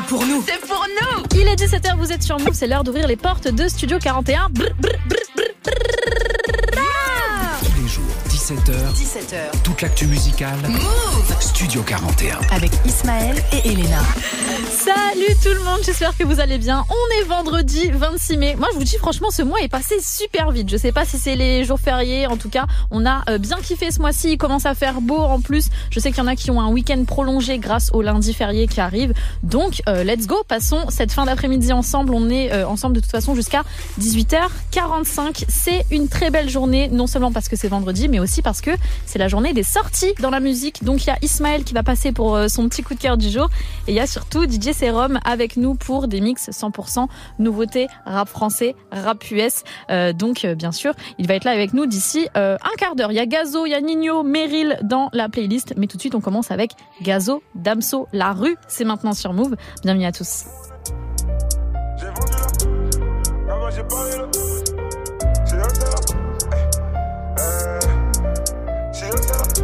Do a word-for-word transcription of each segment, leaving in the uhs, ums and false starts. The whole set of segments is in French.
pour nous. C'est pour nous. Il est dix-sept heures, vous êtes sur Move, c'est l'heure d'ouvrir les portes de Studio quarante et un. Brr, brr, brr, brr, brr. Tous les jours, dix-sept heures. dix-sept heures. Toute l'actu musicale. Move Studio quarante et un. avec Ismaël et Elena. Salut tout le monde, j'espère que vous allez bien. On est vendredi vingt-six mai. Moi je vous dis franchement, ce mois est passé super vite. Je sais pas si c'est les jours fériés, en tout cas on a bien kiffé ce mois-ci. Il commence à faire beau en plus. Je sais qu'il y en a qui ont un week-end prolongé grâce au lundi férié qui arrive. Donc euh, let's go, passons cette fin d'après-midi ensemble. On est euh, ensemble de toute façon jusqu'à dix-huit heures quarante-cinq. C'est une très belle journée, non seulement parce que c'est vendredi, mais aussi parce que c'est la journée des sorties dans la musique. Donc il y a Ismaël qui va passer pour euh, son petit coup de cœur du jour. Et il y a surtout D J Serum avec nous pour des mix cent pour cent nouveautés rap français, rap U S. Euh, donc euh, bien sûr, il va être là avec nous d'ici euh, un quart d'heure. Il y a Gazo, il y a Nino, Meryl dans la playlist. Mais tout de suite, on commence avec Gazo, Damso, La Rue. C'est maintenant sur Move. Bienvenue à tous. J'ai vendu là, avant j'ai parlé là, c'est eux c'est là, euh, c'est eux c'est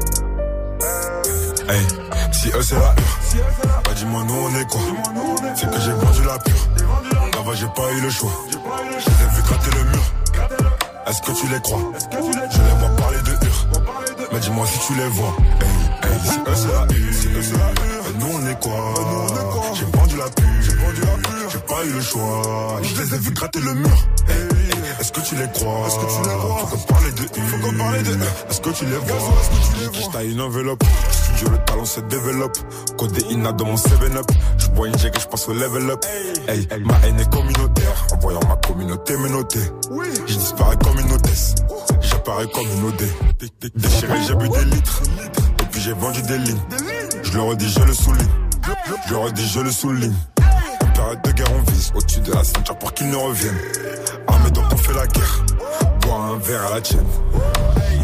là, hey, si eux c'est la hure, bah dis-moi nous on est quoi, c'est que j'ai vendu la pure, avant j'ai pas eu le choix, je les ai vu gratter le mur, est-ce que tu les crois, je les vois parler de hure, mais dis-moi si tu les vois, hey, hey, si eux c'est la hure, nous on est quoi, j'ai vendu la pure, j'ai pas eu le choix, je les ai vu gratter le mur. Hey, hey, est-ce que tu les crois? Est-ce que tu les vois? Faut qu'on parle de eux. Faut qu'on parle de eux. Est-ce que tu les vois? Est-ce que tu les vois? J'taille une enveloppe. Studio, le talent se développe. Codéina dans mon seven up. J'bois une jig et j'passe au level up. Hey, hey, ma haine est communautaire. En voyant ma communauté me noter. Je disparais comme une hôtesse. J'apparais comme une O D. Déchiré, j'ai bu des litres. Et puis j'ai vendu des lignes. Je le redis, je le souligne. Je le redis, je le souligne. Période de guerre, on vise au-dessus de la ceinture pour qu'ils ne reviennent. Armés donc on fait la guerre. Bois un verre à la tienne. Hey,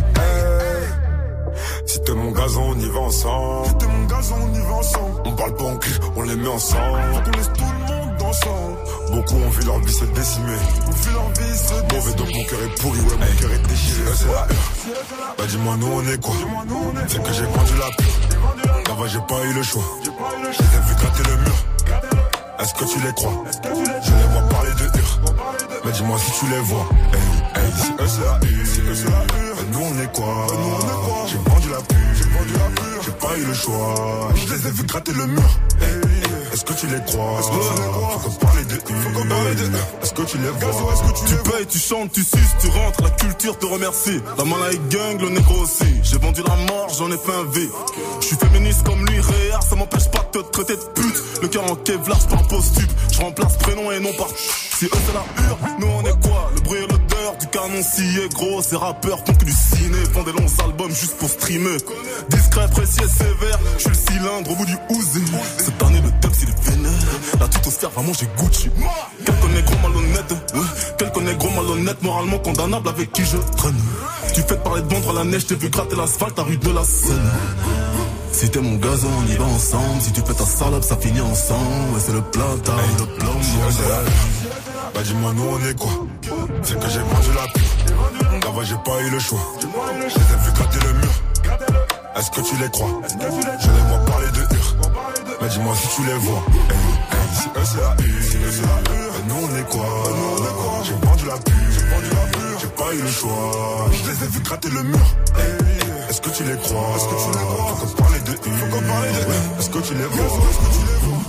si t'es mon gazon, on y va ensemble. Si t'es mon gazon, on y va ensemble. On parle pas en cul, on les met ensemble. Faut qu'on laisse tout le monde ensemble. Beaucoup ont vu leur vie se décimer. On vu leur vie se décimer. Mauvais donc mon cœur est pourri, ouais mon hey. Cœur est déchiré. C'est la hure. Bah dis-moi nous on est quoi? C'est que j'ai vendu la pure. Là-bas j'ai pas eu le choix. Je les ai vu gratter le mur. Est-ce que tu les crois? Je les vois parler de hure. Mais dis-moi si tu les vois. Hey, hey, si eux c'est la hure, si eux c'est la hure. Nous on est quoi? J'ai vendu la pure, j'ai vendu la pure. J'ai pas eu le choix. Je les ai vu gratter le mur. Hey, est-ce que tu les crois? Est-ce que tu les crois? Faut qu'on parle de eux. Faut qu'on parle de eux. Est-ce que tu les vois? Est-ce que tu, tu les payes, vois? Tu chantes, tu suces, tu rentres. La culture te remercie. La malade gang, le négro aussi. J'ai vendu la mort, j'en ai fait un V. Je suis féministe comme lui, réel. Ça m'empêche pas de te traiter de pute. Le cœur en Kevlar, j'pars en post-tube. J'remplace prénom et nom par. Si eux c'est la hure, nous on est quoi? Le bruit et l'odeur du canon scié gros. Ces rappeurs font que du ciné, font des longs albums juste pour streamer. Discret, précis et sévère. J'suis le cylindre au bout du ouzé. Cette année le texte il est vénère. La tutosphère va manger Gucci. Quelqu'un est gros malhonnête, ouais. Quelqu'un est gros malhonnête, moralement condamnable avec qui je traîne. Tu fais parler de vendre à la neige, t'es vu gratter l'asphalte à rue de la Seine. Si t'es mon gazon, on y va ensemble. Si tu fais ta salope, ça finit ensemble. Ouais, c'est le plat, t'as hey, le plan. Bah dis-moi nous on est quoi? C'est que j'ai vendu la pure. Là-bas j'ai pas eu le choix. Je les ai vu gratter le mur. Est-ce que tu les crois? Je les vois parler de hure. Mais dis-moi si tu les vois. Hey, hey, si eux c'est la hure, si eux c'est la hure. Nous on est quoi? J'ai vendu la pure. J'ai pas eu le choix. Je les ai vu gratter le mur. Hey, est-ce que tu les crois? Est-ce que tu les vois? Faut qu'on parle de eux. Faut qu'on parle de eux. Est-ce que tu les vois? Est-ce que tu les vois?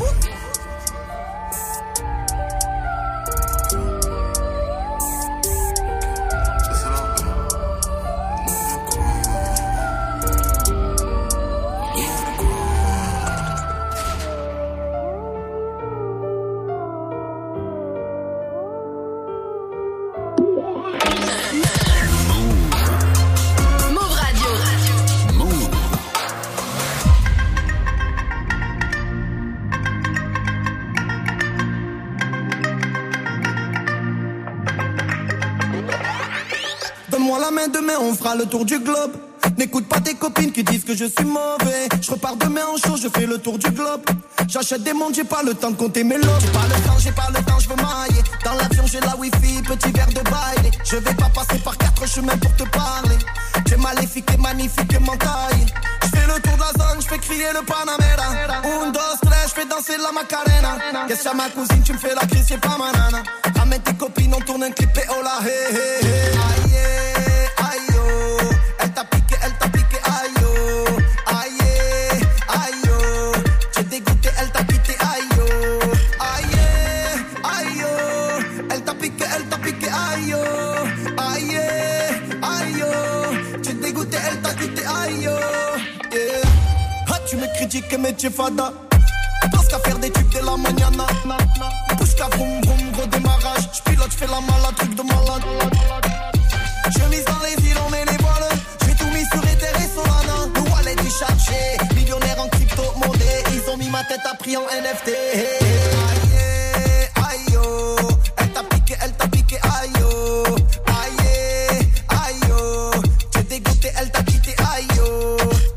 Demain on fera le tour du globe. N'écoute pas tes copines qui disent que je suis mauvais. Je repars demain en show, je fais le tour du globe. J'achète des montres, j'ai pas le temps de compter mes lots. J'ai pas le temps, j'ai pas le temps, je veux mailler. Dans l'avion j'ai la wifi, petit verre de bail. Je vais pas passer par quatre chemins pour te parler. J'ai maléfique et magnifique m'entaille. Je fais le le tour de la zone, j'fais crier le Panamera. Un, dos, tres, j'fais danser la Macarena. Qu'est-ce que ma cousine, tu me fais la crise, c'est pas ma nana. Ramène tes copines, on tourne un clip et oh là, hey, hey, hey. Aïe, aïe, oh. Elle t'a piqué, elle t'a piqué, aïe, oh. Aïe, aïe, oh. T'es dégoûté, elle t'a quitté, aïe, oh. Aïe, aïe, oh. Elle t'a piqué, elle t'a piqué, aïe, oh. Aïe, aïe, oh. T'es dégoûté, elle t'a quitté, aïe, oh. Yeah. Ah, tu me critiques, mais tu es fada. Parce qu'à faire des tubes de la mañana. Pousse qu'à vroom vroom, gros démarrage. J'pilote, j'fais la malade, truc de malade. Chemise dans les îles, on met les voiles. J'ai tout mis sur Ether et Solana. Le wallet est chargé, millionnaire en crypto-monnaie. Ils ont mis ma tête à prix en N F T. Aïe, aïe, oh. Elle t'a piqué, elle t'a piqué, aïe, oh. Aïe, aïe, oh. T'es dégoûté, elle t'a quitté, aïe, oh.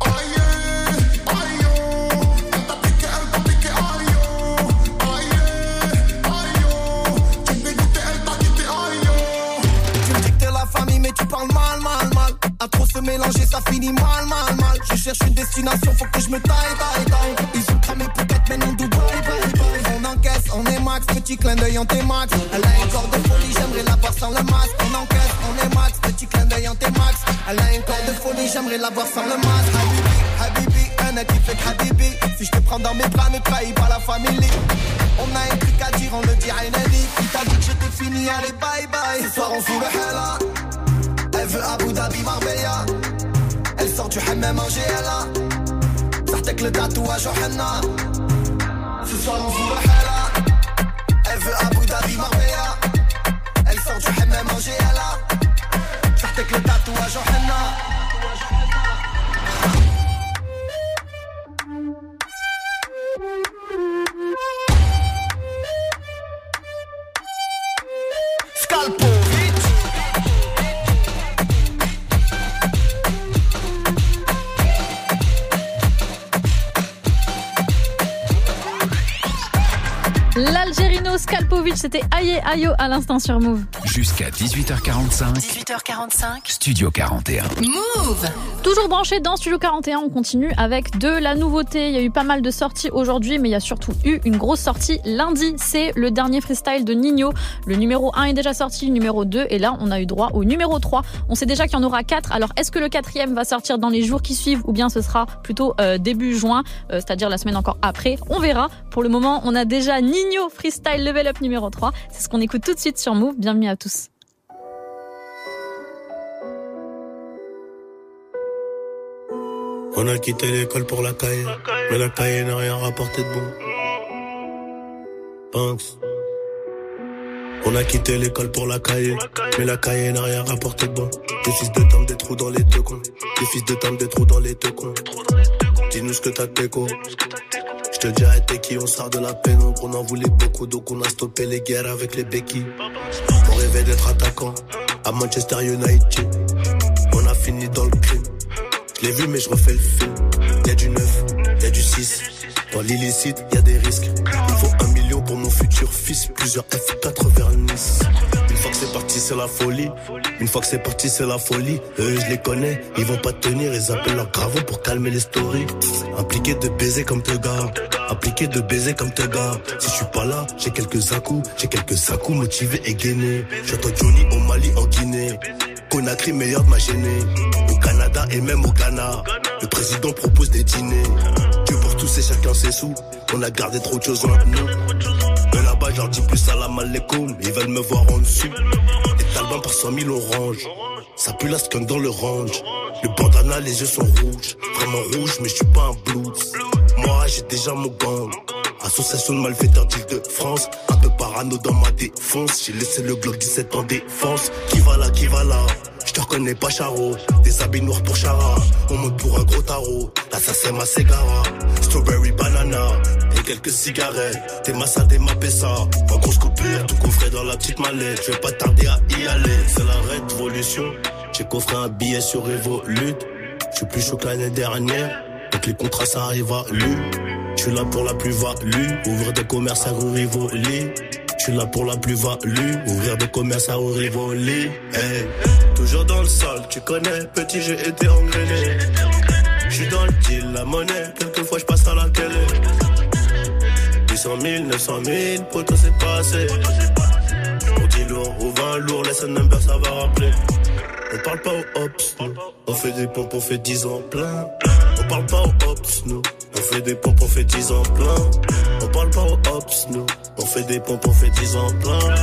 Tu parles mal, mal, mal. À trop se mélanger, ça finit mal, mal, mal. Je cherche une destination, faut que je me taille, taille, taille. Ils ont cramé pour quatre, maintenant Dubaï, bye, bye. On encaisse, on est max, petit clin d'œil en t'es max. Elle a un corps de folie, j'aimerais la voir sans le masque. On encaisse, on est max, petit clin d'œil en t'es max. Elle a un corps de folie, j'aimerais la voir sans le masque. Habibi, Habibi, un a qui fait Habibi. Si je te prends dans mes bras, ne trahis pas la famille. On a un truc à dire, on le dit à une amie. Qui t'a dit que j'étais fini, allez bye bye. Ce soir on fout le hella. Elle veut Abu Dhabi, Marbella. Elle sort du hammam en G L A. Sartek le tatouage au henna. Ce soir on fout le hella. Elle veut Abu Dhabi, Marbella. Elle sort du hammam en G L A. Sartek le tatouage au henna. Scalpo. L'Algérino Scalpovic, c'était Aïe Aïe à l'instant sur Move. Jusqu'à dix-huit heures quarante-cinq. dix-huit heures quarante-cinq. Studio quarante et un. Move. Toujours branché dans Studio quarante et un, on continue avec de la nouveauté. Il y a eu pas mal de sorties aujourd'hui, mais il y a surtout eu une grosse sortie lundi. C'est le dernier freestyle de Ninho. Le numéro un est déjà sorti, le numéro deux, et là, on a eu droit au numéro trois. On sait déjà qu'il y en aura quatre. Alors, est-ce que le quatrième va sortir dans les jours qui suivent ou bien ce sera plutôt euh, début juin, euh, c'est-à-dire la semaine encore après? On verra. Pour le moment, on a déjà Ninho Freestyle Level Up numéro trois. C'est ce qu'on écoute tout de suite sur Move. Bienvenue à tous. On a quitté l'école pour la caille, mais la caille n'a rien rapporté de bon. Banks. On a quitté l'école pour la caille, mais la caille n'a rien rapporté de bon. Des fils de dame, des trous dans les deux cons. Des fils de dame, des trous dans les deux cons. Dis-nous ce que t'as d'écho. Je te dirai t'es qui, on sort de la pénombre. On en voulait beaucoup, donc on a stoppé les guerres avec les béquilles. On rêvait d'être attaquant à Manchester United. On a fini dans le crime. Je l'ai vu mais je refais le film. Y'a du neuf, y'a du six. Dans l'illicite, y'a des risques. Il faut un million pour mon futur fils. Plusieurs F quatre vers Nice. Une fois que c'est parti, c'est la folie. Une fois que c'est parti, c'est la folie. Eux, je les connais, ils vont pas tenir. Ils appellent leur gravon pour calmer les stories. Impliqué de baiser comme te gars. Impliqué de baiser comme te gars. Si je suis pas là, j'ai quelques à-coups. J'ai quelques à-coups motivés et gainés. J'attends Johnny au Mali, en Guinée. Conakry, meilleur de ma gênée. Au Canada et même au Ghana. Le président propose des dîners. Dieu pour tous et chacun ses sous. On a gardé trop de choses en nous. Mais là-bas, je leur dis plus salam alaikum. Ils veulent me voir en dessous. Les talbans par cent mille oranges. Ça pue la skunk dans le range. Le bandana, les yeux sont rouges. Vraiment rouges, mais je suis pas un blues. Moi, j'ai déjà mon gang. Association de malfaiteurs d'Île-de-France. Un peu parano dans ma défense. J'ai laissé le Glock dix-sept en défense. Qui va là, qui va là? Je te reconnais pas Charo. Des habits noirs pour Chara. On monte pour un gros tarot. Là ça c'est ma Segara. Strawberry banana. Et quelques cigarettes. T'es ma ça, t'es ma pessa. En grosse coupure, tout coffré dans la petite mallette. Je vais pas tarder à y aller. C'est la révolution. J'ai coffré un billet sur Revolut. Je suis plus chaud que l'année dernière. Donc les contrats ça arrive à lui. Je suis là pour la plus-value. Ouvrir des commerces à Rivoli. Je suis là pour la plus-value. Ouvrir des commerces à Rivoli. Hey. Toujours dans le sol, tu connais, petit j'ai été engrainé. J'suis dans le deal, la monnaie, quelquefois j'passe à la télé. huit cent mille, neuf cent mille, poto c'est pas assez. On dit lourd ou vingt lourd, laisse un number, ça va rappeler. On parle pas aux ops, nous. On fait des pompes, on fait dix ans plein. On parle pas aux ops, nous. On fait des pompes, on fait dix ans plein. On parle pas aux ops, nous. On fait des pompes, on fait dix ans plein.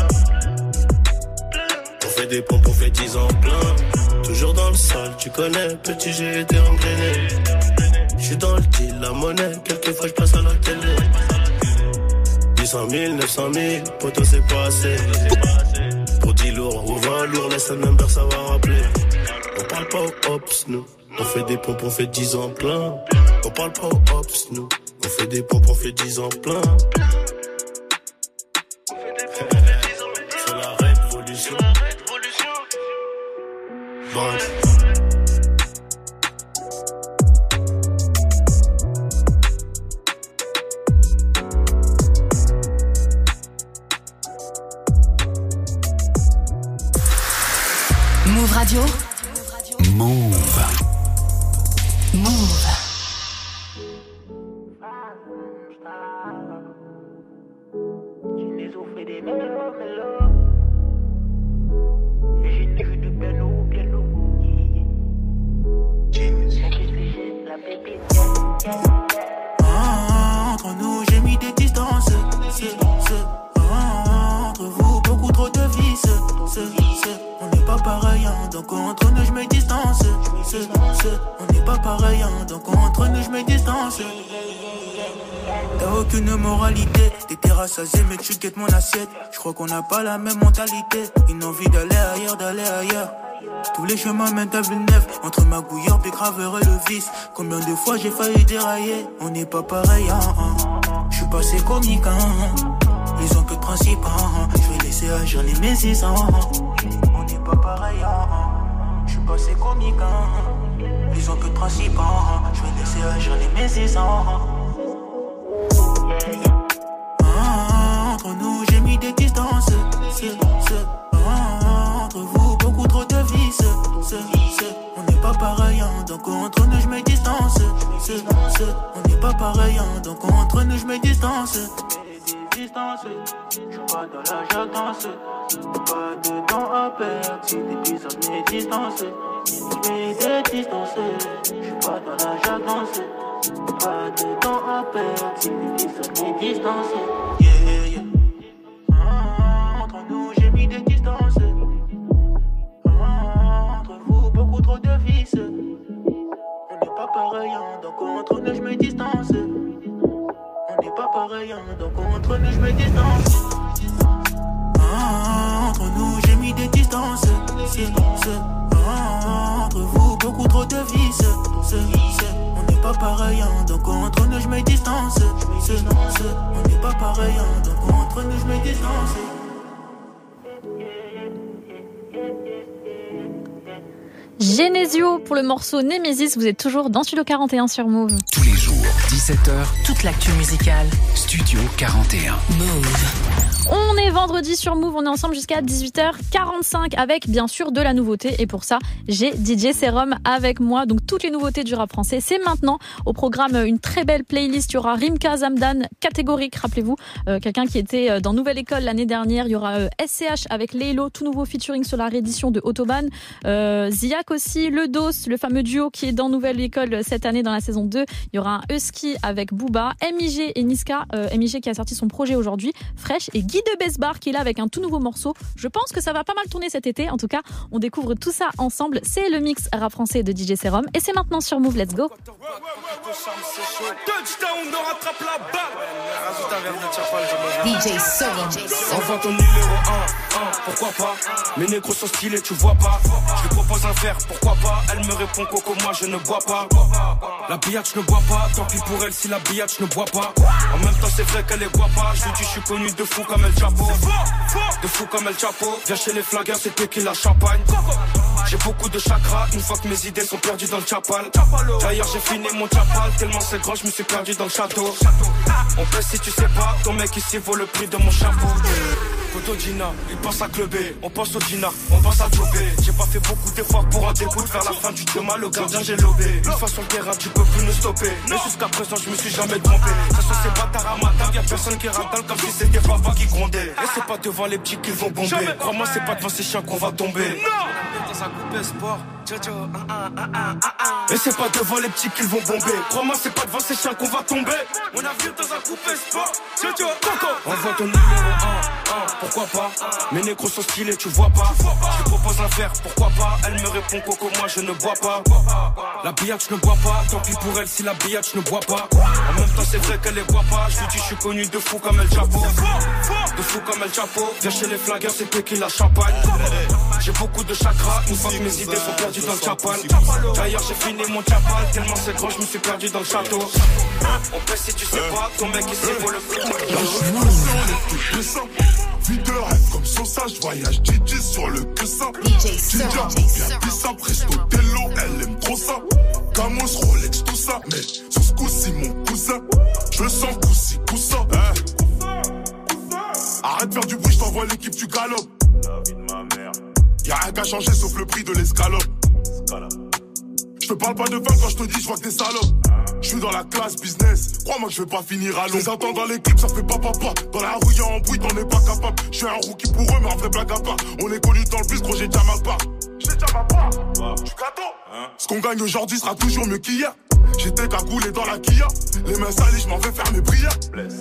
On fait des pompes, on fait dix ans plein. Toujours dans le sale, tu connais, petit j'ai été engrainé. J'suis dans le deal, la monnaie, quelquefois j'passe à la télé. Huit cent mille, neuf cent mille, poto c'est pas assez. Pour dix lourds ou vingt lourds, laisse un number, ça va rappeler. On parle pas aux ops, nous. On fait des pompes, on fait dix ans plein. On parle pas aux ops, nous. On fait des pompes, on fait dix ans plein. C'est la révolution. Bon. Move Radio. Move. Move. Ah, entre nous, j'ai mis des distances. C'est, c'est, ah, entre vous, beaucoup trop de vices. C'est, c'est, on n'est pas pareil, hein, donc entre nous, je me distance. C'est, c'est, on n'est pas pareil, hein, donc entre nous, je me distance. T'as aucune moralité, t'étais rassasié mais tu guettes mon assiette. Je crois qu'on n'a pas la même mentalité. Une envie d'aller ailleurs, d'aller ailleurs. Tous les chemins mènent à Villeneuve. Entre ma gouilleur, Bécraveur et le vice. Combien de fois j'ai failli dérailler. On n'est pas pareil, hein, hein. Je suis passé comique, hein. Ils ont que de principe, hein. Je vais laisser agir les messis, hein. On n'est pas pareil, hein. Je suis passé comique, hein. Ils ont que de principe, hein. Je vais laisser agir les messis, hein. Ah, entre nous, j'ai mis des distances. C'est, c'est, ah, entre vous, beaucoup trop de vices. C'est, c'est, on n'est pas pareil, hein, donc entre nous, je me distance. C'est, c'est, on n'est pas pareil, hein, donc entre nous, je me distance. Je suis pas dans la jactance. Pas de temps à perdre. Si des pisotes mes distances. Je vais te distancer. Je suis pas dans la jactance. Pas de temps à perdre. Si des pisotes mes distances. Yeah, yeah. Ah, entre nous, j'ai mis des distances. Ah, entre vous, beaucoup trop de vices. On n'est pas pareil, hein, donc entre nous, je me distance. On n'est pas pareil, hein, donc entre nous, je me distance. Ah, entre nous, j'ai mis des distances. C'est, c'est, ah, entre vous, beaucoup trop de vices. C'est, c'est, on n'est pas pareil, hein, donc entre nous, je me distance. C'est, c'est, on n'est pas pareil, hein, donc entre nous, je me distance. Genesio pour le morceau Nemesis, vous êtes toujours dans Studio quarante et un sur Move. Tous les jours, dix-sept heures, Toute l'actu musicale. Studio quarante et un. Move. On est vendredi sur Move, on est ensemble jusqu'à dix-huit heures quarante-cinq avec bien sûr de la nouveauté et pour ça j'ai D J Serum avec moi, donc toutes les nouveautés du rap français c'est maintenant. Au programme une très belle playlist, il y aura Rimka Zamdan, Catégorique, rappelez-vous, euh, quelqu'un qui était dans Nouvelle École l'année dernière, il y aura euh, S C H avec Lélo, tout nouveau featuring sur la réédition de Autobahn, euh, Ziak aussi, Le Dos, le fameux duo qui est dans Nouvelle École cette année dans la saison deux, il y aura un Husky avec Booba, M I G et Niska, euh, M I G qui a sorti son projet aujourd'hui, Fresh, et Guy de Besbar qui est là avec un tout nouveau morceau. Je pense que ça va pas mal tourner cet été. En tout cas, on découvre tout ça ensemble. C'est le mix rap français de D J Serum et c'est maintenant sur Move. Let's go. D J Serum. Enfin ton numéro un, un, pourquoi pas. Mes négros sont stylés, tu vois pas. Je lui propose un verre, pourquoi pas. Elle me répond coco, moi je ne bois pas. La billette, je ne bois pas. Tant pis pour elle si la billette, je ne bois pas. En même temps, c'est vrai qu'elle est guapa. Je lui dis, je suis connu de fou comme El Chapo. De fou comme El Chapo. Viens chez les flaggers, c'est tequila champagne. J'ai beaucoup de chakras, une fois que mes idées sont perdues dans le chapal. D'ailleurs j'ai fini mon chapal, tellement c'est grand je me suis perdu dans le château. On pèse si tu sais pas, ton mec ici vaut le prix de mon chapeau. Cotodina, il pense à clubber, on pense au dinar, on pense à jobber. J'ai pas fait beaucoup d'efforts pour en découdre. Vers la fin du chemin, le gardien j'ai lobé. Une fois sur le terrain, tu peux plus nous stopper. Mais jusqu'à présent, je me suis jamais trompé. Ça sont ces bâtards à ma table, y'a personne qui ratale comme si c'était papa qui grondait. Et c'est pas devant les petits qu'ils vont bomber. Crois-moi, c'est pas devant ces chiens qu'on va tomber. Non! Dans un coupé sport. Et c'est pas devant les petits qu'ils vont bomber. Crois-moi, c'est pas devant ces chiens qu'on va tomber. On a vu dans un coupé sport. On voit ton numéro un, un, pourquoi pas. Mes négros sont stylés, tu vois pas. Je lui propose un verre, pourquoi pas. Elle me répond coco, moi je ne bois pas. La billette, je ne bois pas. Tant pis pour elle si la billette, je ne bois pas. En même temps, c'est vrai qu'elle les boit pas. Je lui dis, je suis connu de fou comme El Chapo. De fou comme El Chapo. Viens chez les flingueurs, c'est tequila champagne. J'ai beaucoup de chakras. Une fois que mes idées sont perdues dans le chapan. D'ailleurs, j'ai fini mon chapan. Tellement c'est grand, je me suis perdu dans le château. On pèse si tu sais pas. Ton mec ici vaut le plus. Vie de rêve comme Sosa, je voyage Gigi sur le cussin. Ginger, bien pissa, presto tello, elle aime trop ça. Camos, Rolex, tout ça. Mais sur ce coup-ci, mon cousin, je le sens coup-ci, coup-ça. Hey. Arrête de faire du bruit, je t'envoie l'équipe, tu galopes. La vie de ma mère. Y'a rien qu'à changer sauf le prix de l'escalope. Je te parle pas de vin quand je te dis je vois que des salopes. Je suis dans la classe business, crois-moi que je vais pas finir à l'eau. Les attends dans l'équipe, ça fait pas papa. Dans la rue y'a un bruit, t'en es pas capable. Je suis un rookie pour eux, mais en vrai blague à part. On est connus dans le bus, gros j'ai déjà ma part. J'ai déjà ma part, tu gâteau hein. Ce qu'on gagne aujourd'hui sera toujours mieux qu'hier. J'étais cagoulé dans la Kia. Les mains salies, je m'en vais faire mes prières. Bless.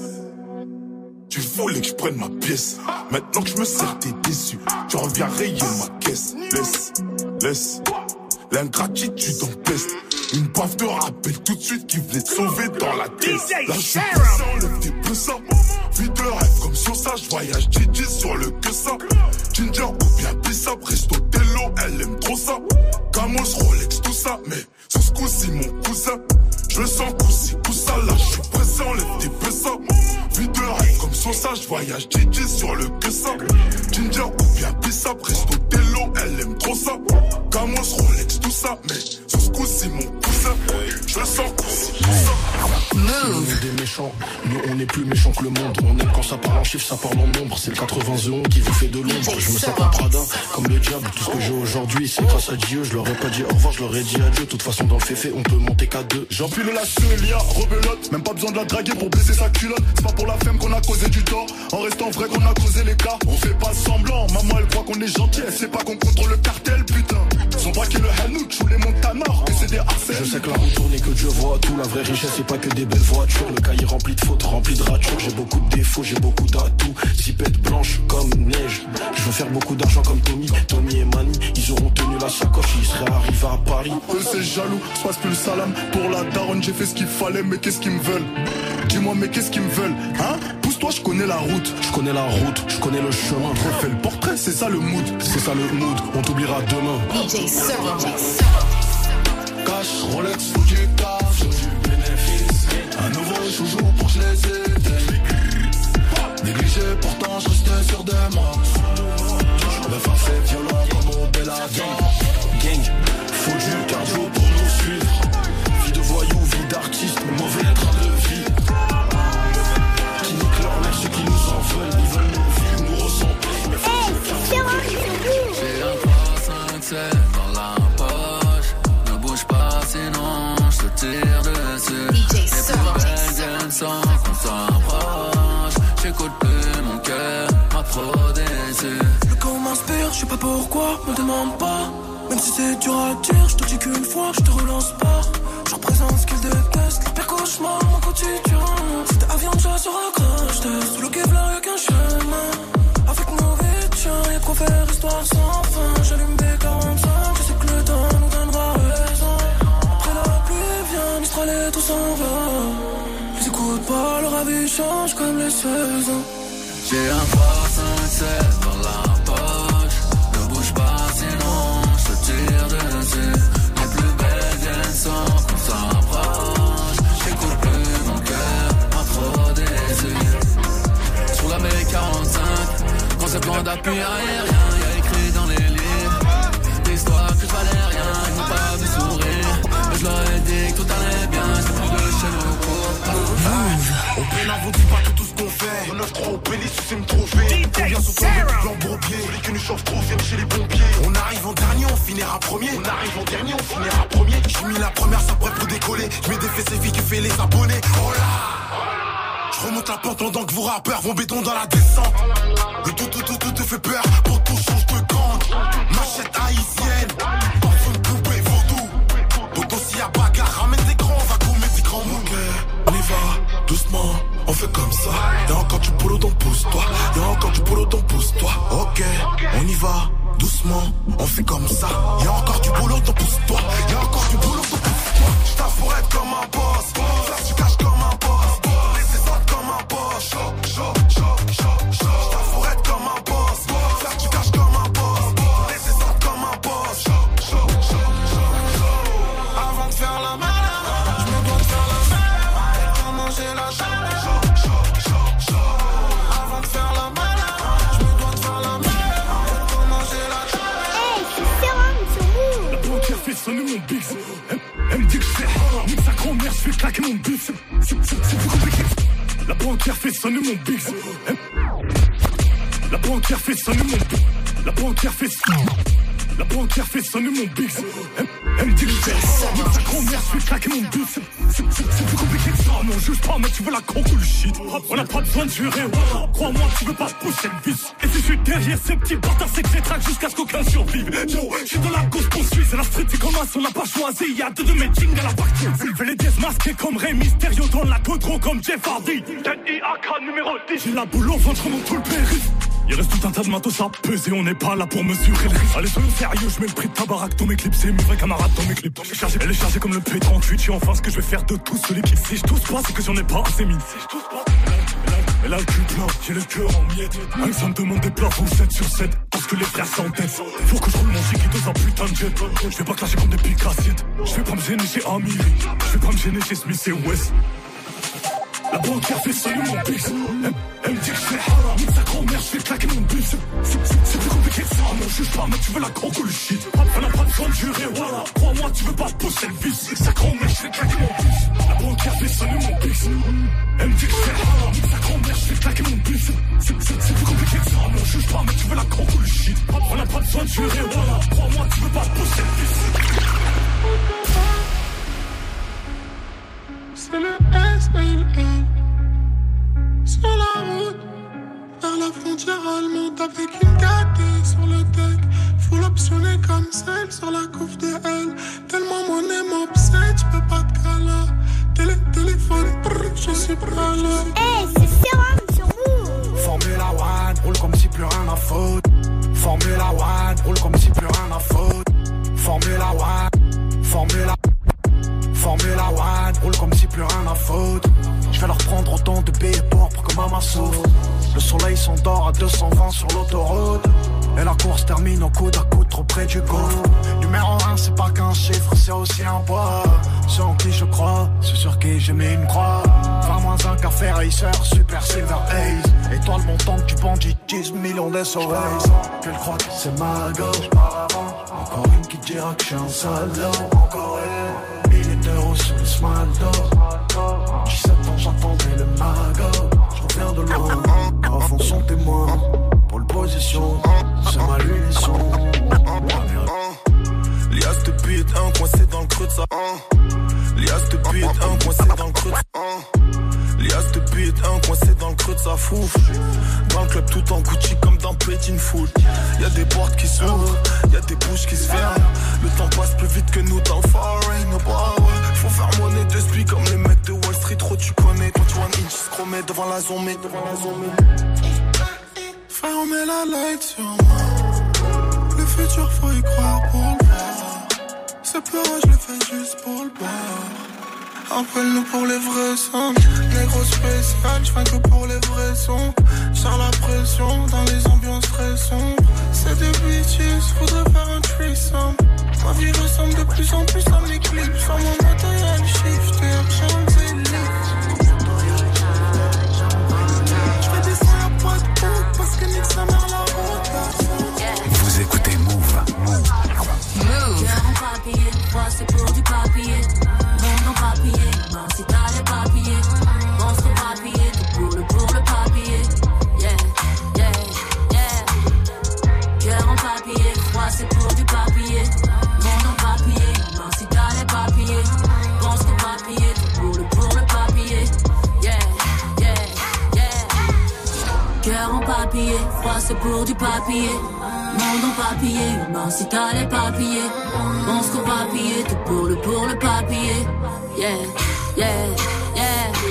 Tu voulais que je prenne ma pièce. Maintenant que je me sers, t'es déçu. Tu reviens rayer ma caisse. Laisse, laisse. L'ingratitude en peste. Une baffe de rappel tout de suite qui voulait te sauver dans la caisse. Là je suis pressant, lève tes pesants. Vie de rêve comme Sosa, je voyage Gigi sur le cussin. Ginger ou bien pissa, presto tello, elle aime trop ça. Camos, Rolex, tout ça. Mais sur ce coup-ci, mon cousin, je le sens coup-ci, coup-ça. Là je suis pressant, lève tes pesants. Vie de rêve comme Sosa, je voyage Gigi sur le cussin. Ginger ou bien pissa, presto tello, elle aime trop ça. Camos, Rolex, tout ça. Mais sur ce coup-ci, mon cousin, je le sens coup-ci, coup-ça. Move. Des méchants, nous on est plus méchants que le monde. On aime quand ça parle en chiffres, ça parle en nombre. C'est le quatre-vingts qui vous fait de l'ombre. Je me sens pas Prada, comme le diable. Tout ce que j'ai aujourd'hui, c'est grâce à Dieu. Je leur ai pas dit au revoir, je leur ai dit adieu. De toute façon, dans le féfé, on peut monter qu'à deux. J'empile la Celia, rebelote. Même pas besoin de la draguer pour baisser sa culotte. C'est pas pour la femme qu'on a causé du tort. En restant vrai qu'on a causé les cas. On fait pas semblant, maman elle croit qu'on est gentil. Elle sait pas qu'on contrôle le cartel, putain. Sont braqués le Hanout ou les Montanars. Et c'est des harcèles. Je sais que la roue tourne et que Dieu voit tout. La vraie richesse, c'est pas que des belles voitures. Le cahier rempli de fautes, rempli de ratures. J'ai beaucoup de défauts, j'ai beaucoup d'atouts. Zipette blanche comme neige. Je veux faire beaucoup d'argent comme Tommy. Tommy et Manny, ils auront tenu la sacoche. Ils seraient arrivés à Paris. Eux c'est jaloux, je passe plus le salam. Pour la daronne, j'ai fait ce qu'il fallait. Mais qu'est-ce qu'ils me veulent? Dis-moi, mais qu'est-ce qu'ils me veulent? Hein? Pousse-toi, je connais la route. Je connais la route, je connais le chemin. Refais le portrait, c'est ça le mood. C'est ça le mood, on t'oubliera demain. D J Seven. Cash, Rolex, faut du taf, faut du bénéfice. Un nouveau chouchou pour que je les éteigne. Négligé, pourtant je restais sûr de moi. Le phare c'est violent comme au Bellator. Gang, faut du cardio pour nous suivre. Vie de voyou, vie d'artiste, mauvais train de vie. Qui nique leur mère, ceux qui nous en veulent. Ils veulent nous vivre, nous ressentir. Mais faut que je j'ai un trois cinq sept dans la poche. Ne bouge pas sinon je te tire dessus. Les plus belles viennent sans qu'on s'approche. J'écoute plus mon cœur, m'a trop déçu. Le corps m'inspire, je sais pas pourquoi, me demande pas. Même si c'est dur à dire, je te dis qu'une fois, je te relance pas. Je représente ce qu'ils détestent, leur pire cauchemar, mon quotidien. C'était avion déjà sur un crash test. Sous le Kevlar y'a qu'un chemin. Avec nos vies, y'a de quoi faire histoire sans fin. J'allume des quarante-cinq, je sais que le temps nous donnera raison. Après la pluie vient, Mistral et tout s'en va. Ils écoutent pas, leur avis change comme les saisons. J'ai un trois cinq sept dans la poche. Ne bouge pas sinon je te tire dessus. Les plus belles viennent sans qu'on s'approche. J'écoute plus mon cœur, m'a trop déçu. Sur la B quarante-cinq, concept loin d'appui aérien. Y'a écrit dans les livres des histoires que je valais rien. Ils m'ont pas vu sourire, mais je leur ai dit que tout allait bien. C'est plus de chez nous pour Au pénal, vous dites pas tout, tout ce qu'on fait. neuf trois au Pélis, tu sais me trouver. Combien sur toi J'ai mis la première, ça prête pour décoller. Je mets des fesses et filles qui fait les abonnés. Oh là, je remonte la pente pendant que vos rappeurs vont béton dans la descente. Le tout tout tout tout te fait peur, pour tout change de gang. Machette haïtienne, parfum de poupée vaudou. Donc s'il y a bagarre, ramène des grands, on va commettre des grands mots. Ok, on y va, doucement, on fait comme ça. Y'a encore du boulot, donc pousse-toi. Y'a encore du boulot, donc pousse-toi. Ok, on y va, doucement, on fait comme ça. Y'a encore du boulot, donc pousse-toi. Y'a encore du boulot, donc pousse-toi. J't'avoue pour être comme un boss, faire du cash comme un boss. Laisser ça comme un boss, chaud, chaud, chaud, chaud, chaud. J't'avoue pour être comme un boss, faire du cash comme un boss. Laisser ça comme un boss, chaud, chaud, chaud, chaud. Avant de faire la malade, j'me dois de faire la malade. Pour manger la chaleur, chaud, chaud, chaud, chaud. Avant de faire la malade, j'me dois de faire la malade. Pour manger la chaleur. Hey, c'est Serum sur vous. La banquière fait sonner mon bix. Elle, elle me dit que je fais nique sa grand-mère, je fais claquer mon bus. C'est, c'est, c'est plus compliqué. La banquière fait sonner mon bix. Elle, la banquière fait sonner mon bix. La banquière fait sonner. La banquière fait sonner mon bix. Elle, elle me dit que je fais nique sa grand-mère, je fais claquer mon bus. C'est, c'est, c'est plus compliqué que ça. Non, juge pas, mais tu veux la coque ou le shit. On a pas besoin de jurer. Crois-moi, tu veux pas pousser le vice. Et si je suis derrière ces petits bâtards, c'est que c'est track jusqu'à ce qu'aucun survive. Yo, je suis dans la cause poursuite. C'est la street, c'est comme un, on n'a pas choisi. Y'a deux de mes jings à la partie. Fais les dièses masqués comme Rey Mysterio dans la codro comme Jeff Hardy. N I A K numéro dix. J'ai la boule au ventre, je remonte tout le périph'. Il reste tout un tas de matos à peser, on n'est pas là pour mesurer le risque. Allez, soyons sérieux, je mets le prix de ta baraque dans mes clips, c'est mes vrais camarades dans mes clips. Je suis chargé, elle est chargée comme le P trente-huit, je suis enfin ce que je vais faire de tous ceux qui. Si je tousse pas, c'est que j'en ai pas assez mis. Si je tousse pas, elle a le cul plein, j'ai le cœur en miettes. Même ça me demande des plafonds sept sur sept, parce que les frères s'entêtent. Faut que je roule mon chiquito, ça putain de jet. Je vais pas clasher comme des pics assiettes. Je vais pas me gêner chez Amiri, je vais pas me gêner chez Smith et West. La banquière fait sonner mon bix. Elle, elle me dit que je fais haram. Nique sa grand-mère, je fais claquer mon bus. C'est, c'est, c'est plus compliqué que ça. Non, juge pas, mais tu veux la coque ou le shit. On n'a pas besoin de jurer, voilà. Crois-moi, tu veux pas pousser le vice. Nique sa grand-mère, je fais claquer mon bus. La banquière fait sonner mon bix. Elle me dit que je fais haram. Nique sa grand-mère, je fais claquer mon bus. C'est, c'est, c'est plus compliqué que ça. Non, juge pas, mais tu veux la coque ou le shit. On n'a pas besoin de jurer, voilà. Crois-moi, tu veux pas pousser le vice. C'est le S et le N. Sur la route, vers la frontière allemande, avec une K D sur le deck. Full optionné comme celle sur la couve de L. Tellement mon aime m'obsède, j'peux pas te caler. Télé, téléphone, brrr, je suis pas là. Hey, c'est Serum sur vous. Formula One, roule comme si plus rien à foutre. Formula One, roule comme si plus rien à foutre. Formula One, Formula Formula One, roule comme si plus rien à foutre. Je vais leur prendre autant de billets pour que maman souffre. Le soleil s'endort à deux cent vingt sur l'autoroute. Et la course termine au coude à coude trop près du gouffre. Numéro un, c'est pas qu'un chiffre, c'est aussi un poids. Ceux en qui je crois, ceux sur qui j'ai mis une croix. vingt moins un café racer, super silver haze. Étoile montante du bandit, dix millions d'S O S. Qu'elle croit que c'est ma gauche. Encore une qui dira que je suis un salaud. Encore une. Mille euros sur le smaldo. dix-sept ans j'attendais le magot. Je reviens de loin, à fond son témoin. Pour le position, c'est ma lunisson. Lias de beat, un coincé dans le creux de sa. Lias de beat, un coincé dans le creux de sa. Lias de beat, un coincé dans le creux de sa fouf. Dans le club tout en Gucci comme dans Petit Foot. Y'a des portes qui s'ouvrent, y'a des bouches qui se ferment. Le temps passe plus vite que nous dans le foreign. Oh bah ouais, faut faire monnaie de spi comme les mecs de Wall Street. Trop tu connais, toi tu vois un inch scromé devant la zombie, devant la zombie. Frère, on met la light sur moi. Le futur faut y croire pour le voir. Ce pleurer je le fais juste pour le boire. Appelle-nous pour les vrais sons. Négro spécial, j'viens que pour les vrais sons. J'sers la pression dans les ambiances très sombres. C'est des bitches, faudrait faire un threesome. Ma vie ressemble de plus en plus à mes clips. Sur mon matériel shifter, Champs-Élysées. J'fais descendre la boîte haute parce que nique sa mère la route. Vous écoutez Move. Move. Move. Cœur en papier, toi c'est pour du papier. Monde en papier, non si t'as les papiers. Pense au papier, tout pour le pour le papier. Yeah, yeah, yeah. Cœur en papier, toi c'est pour du papier. Monde en papier, non si t'as les papiers. c'est pour du papier. Monde en papier, humain si t'as les papiers. On se papier, tout pour le, pour le papier. Yeah, yeah, yeah.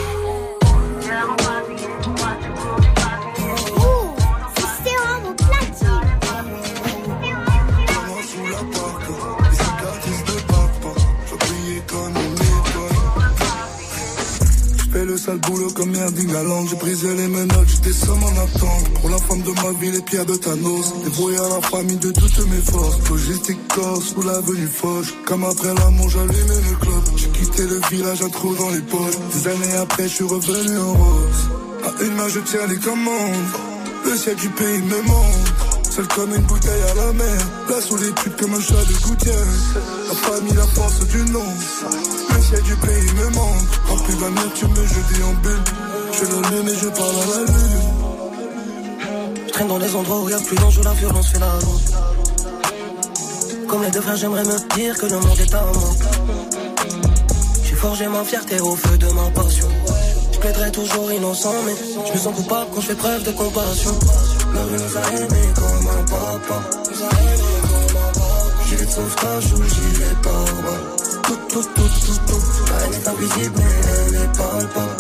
Le sale boulot comme Erding à Land. J'ai brisé les menottes, j'étais seul en attente. Pour la femme de ma vie, les pierres de Thanos. Débrouillé à la famille de toutes mes forces. Logistique corse, sous l'avenue Foch. Comme après l'amour, j'allumais le club. J'ai quitté le village, un trou dans les poches. Des années après, je suis revenu en rose. À une main, je tiens les commandes. Le ciel du pays me montre. Seul comme une bouteille à la mer. La solitude comme un chat de gouttière. La famille, la force du nom. Le ciel du pays me manque. Rempli d'amertume, je déambule. Je l'allume et je parle à la lune. Je traîne dans les endroits où y'a plus d'enjeux, la violence fait la loi. Comme les deux frères, j'aimerais me dire que le monde est à moi. J'ai forgé ma fierté au feu de ma passion. Je plaiderai toujours innocent, mais je me sens coupable quand je fais preuve de compassion. La vie nous a aimés comme un papa. Gilet de sauvetage ou gilet pare-balles. Tout, tout, tout, tout, tout. La haine est invisible mais elle est palpable.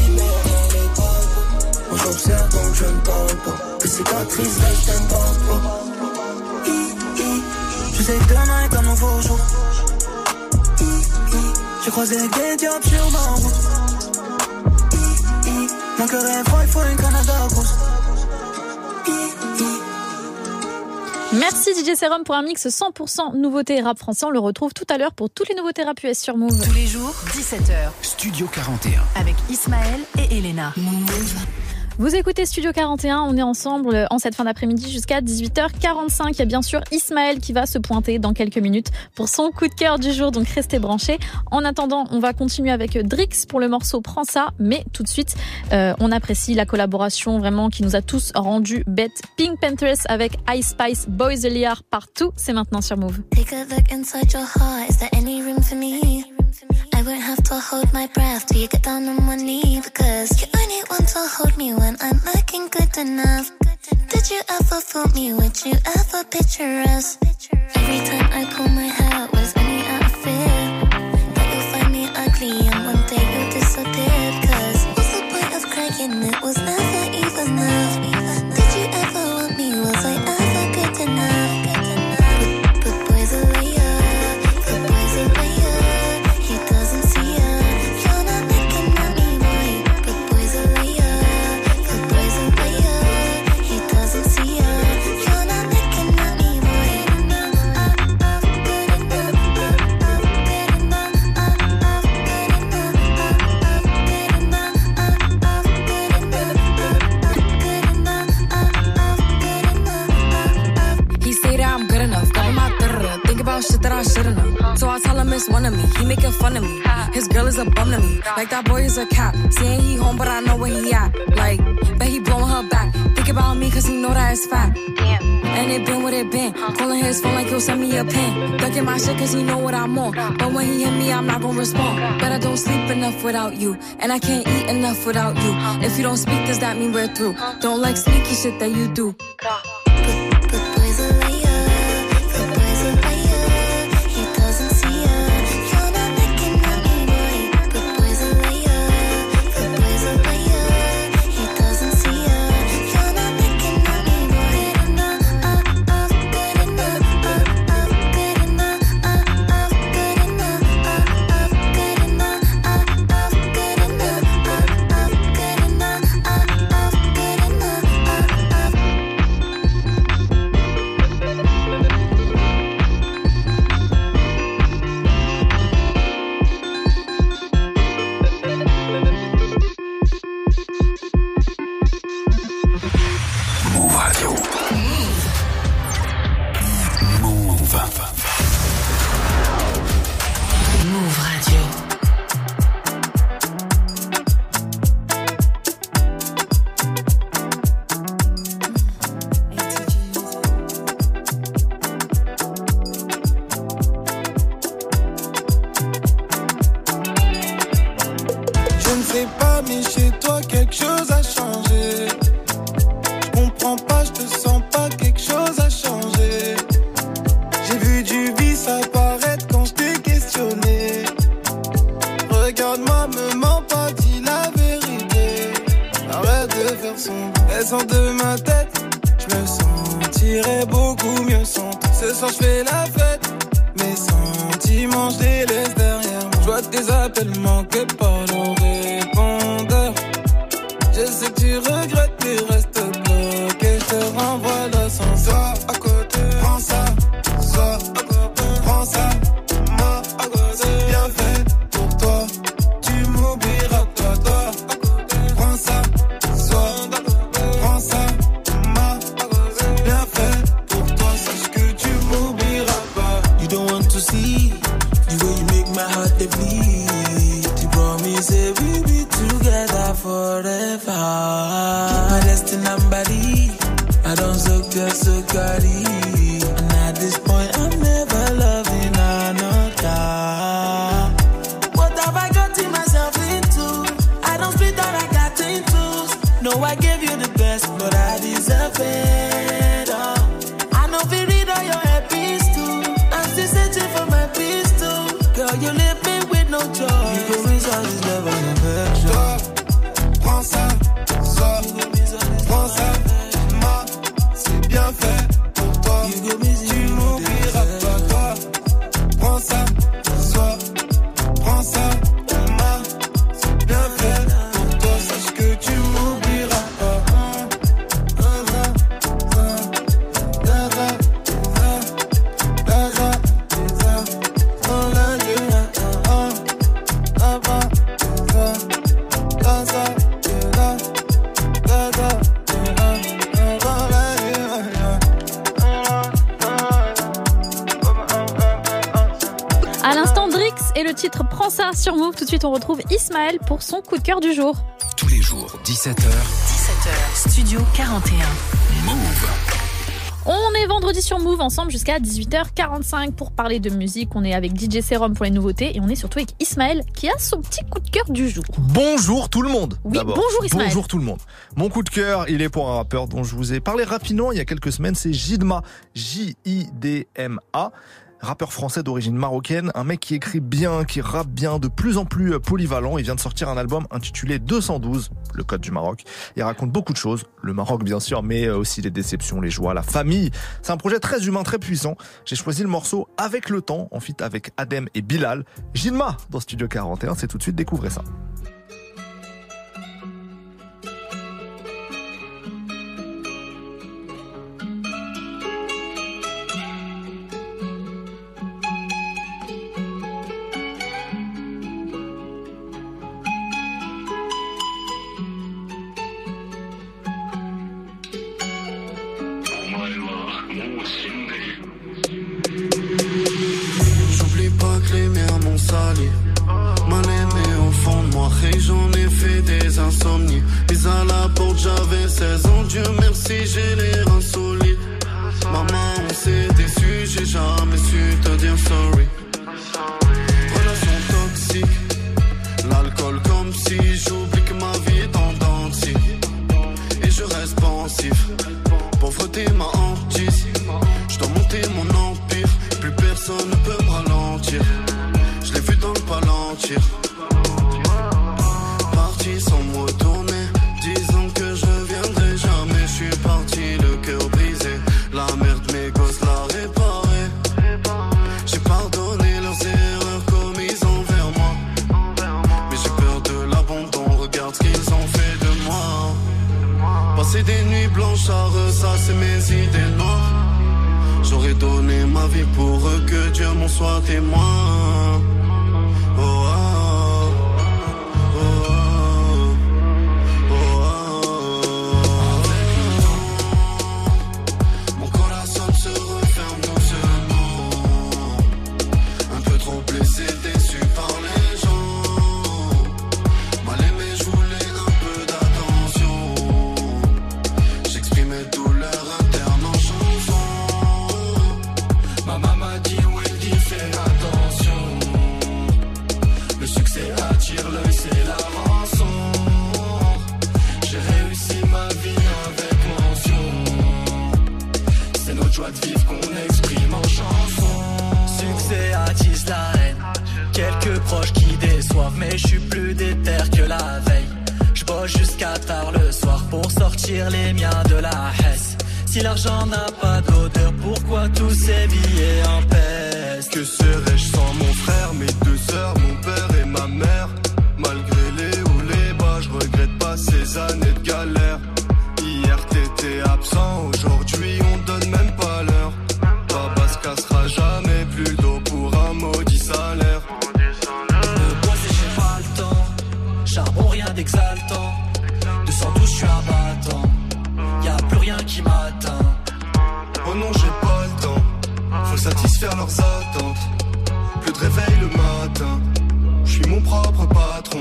Moi j'observe donc je ne parle pas. Tes cicatrices restent un pas. Je sais que demain est un nouveau jour. J'ai croisé des diables sur ma route. Mon cœur est froid, il faut une Canada grosse. Merci D J Serum pour un mix cent pour cent nouveauté rap français. On le retrouve tout à l'heure pour toutes les nouveautés rap U S sur Move. Tous les jours, dix-sept heures. Studio quarante et un. Avec Ismaël et Elena. Move. Vous écoutez Studio quarante et un, on est ensemble en cette fin d'après-midi jusqu'à dix-huit heures quarante-cinq. Il y a bien sûr Ismaël qui va se pointer dans quelques minutes pour son coup de cœur du jour, donc restez branchés. En attendant, on va continuer avec Drix pour le morceau Prends ça, mais tout de suite, euh, on apprécie la collaboration vraiment qui nous a tous rendu bêtes. Pink Panthers avec Ice Spice, Boys the Liar partout, c'est maintenant sur Move. Take a look inside your heart, is there any room for me? I won't have to hold my breath till you get down on one knee, because you only want to hold me when I'm looking good enough. Did you ever fool me? Would you ever picture us? Every time I pull my hair out, was only out of fear that you'll find me ugly and one day you'll disappear. Cause what's the point of crying? It was never even enough. Did you ever want me? Was I ever good enough? But, but boys are liar, but boys are liar. He doesn't see her. You're not looking at me, boy. But boys are liar, but boys are liar. He doesn't see her. You're not looking at me, boy. Good enough, good enough, good enough, good enough. He say that I'm good enough, got him out there. Think about shit that I shouldn't have. So I tell him it's one of me. He making fun of me. His girl is a bum to me. Like that boy is a cat. Saying he home, but I know where he at. Like, bet he blowing her back. Think about me, cause he know that it's fat. Damn. And it been what it been. Calling his phone like he'll send me a pin. Ducking my shit cause he know what I'm on. But when he hit me, I'm not gonna respond. But I don't sleep enough without you. And I can't eat enough without you. If you don't speak, does that mean we're through? Don't like sneaky shit that you do. Boys are liar, but boys are liar. He doesn't see her. You're not looking at me, boy. But boys are liar, but boys are liar. He doesn't see her. You're not looking at me, boy. Good enough, good enough, good enough, good enough, good enough, good enough, good Move Radio. Move. Move Radio. Je ne sais pas, mais chez toi quelque chose a changé. Je comprends pas, je te sens sors de ma tête, je me sentirais beaucoup mieux sans toi. Ce soir je fais la fête, mes sentiments je les laisse derrière moi. Je vois tes appels manqués par le répondeur. Je sais que tu regrettes mais reste bloqué. Je te renvoie l'ascenseur à côté. Prends ça, ça, à côté. Prends ça, moi à côté. C'est bien fait pour toi, tu m'oublieras toi, toi à côté. Prends ça, ça, prends ça, moi à côté. C'est bien fait pour toi, sache que tu m'oublieras pas. You don't want to see the way you make my heart they bleed. You promise that we'll be together forever. My destiny and body, I don't so good, so good. And at this point, I'm never loving another. What have I gotten myself into? I don't split that I got into. No, I gave you the best, but I deserve it. Oh. I know if you read all your epics too. I'm still searching for my peace too. Girl, you leave me with no choice. You go miss all this love and affection. Prends ça, ça, prends ça, ma, c'est bien fait pour toi. Tu m'oublieras pas, toi. Prends ça, ça, prends ça, ma, c'est bien fait pour toi. Sache que tu m'oublieras pas. À l'instant, Drix et le titre Prends ça sur Move. Tout de suite, on retrouve Ismaël pour son coup de cœur du jour. Tous les jours, dix-sept heures. dix-sept heures, Studio quarante et un. Move. On est vendredi sur Move ensemble jusqu'à dix-huit heures quarante-cinq pour parler de musique. On est avec D J Serum pour les nouveautés et on est surtout avec Ismaël qui a son petit coup de cœur du jour. Bonjour tout le monde. Oui, d'abord. bonjour Ismaël. Bonjour tout le monde. Mon coup de cœur, il est pour un rappeur dont je vous ai parlé rapidement il y a quelques semaines, c'est Jidma, J I D M A. Rappeur français d'origine marocaine, un mec qui écrit bien, qui rappe bien, de plus en plus polyvalent. Il vient de sortir un album intitulé deux cent douze, le code du Maroc. Il raconte beaucoup de choses, le Maroc bien sûr, mais aussi les déceptions, les joies, la famille. C'est un projet très humain, très puissant. J'ai choisi le morceau Avec le temps, en feat avec Adem et Bilal. Jidma dans Studio quarante et un, c'est tout de suite, découvrez ça. J'oublie pas que les miens m'ont sali. Mal aimé au fond de moi, et j'en ai fait des insomnies. Mis à la porte, j'avais seize ans. Dieu merci, j'ai les reins solides. Maman, on s'est déçus, j'ai jamais su te dire sorry. Relation toxique, l'alcool comme si j'oublie que ma vie est en dents de scie. Et je reste pensif, pauvreté m'a hantise. Je dois monter mon empire, plus personne ne peut me ralentir. Je l'ai vu dans le palantir, parti sans me retourner, disant que je reviendrai jamais. Je suis parti le cœur brisé, la merde mes gosses l'a réparé. J'ai pardonné leurs erreurs commises envers moi, mais j'ai peur de l'abandon, regarde ce qu'ils ont fait de moi. Passer des nuits blanches à ressasser mes idées noires. J'aurais donné ma vie pour eux, que Dieu m'en soit témoin. Oh, oh, oh, oh, oh, oh. Avec le temps, mon corazon se referme doucement. Un peu trop blessé, déçu par les gens. Mal aimé, je voulais un peu d'attention. J'exprimais douleur interne en chanson. Ma maman dit ouais dit fais attention. Le succès attire l'œil, c'est la rançon. J'ai réussi ma vie avec mention. C'est notre joie de vivre qu'on exprime en chanson. Succès attise la haine. Quelques proches qui déçoivent, mais je suis plus déter que la veille. Je bosse jusqu'à tard le soir pour sortir sortir les miens de la hesse. Si l'argent n'a pas d'odeur, pourquoi tous ces billets en pèse? Que serais-je sans mon frère, mes deux sœurs, mon père et ma mère? Malgré les hauts, les bas, je regrette pas ces années de galère. Hier t'étais absent, aujourd'hui on donne même pas l'heure. Papa se cassera jamais plus d'eau pour un maudit salaire. De bosser j'ai pas le temps, charbon rien d'exaltant. De cent douze je suis un battant, y'a plus rien qui m'atteint. Oh non j'ai pas le temps, faut satisfaire leurs attentes. Plus de réveil le matin, je suis mon propre patron.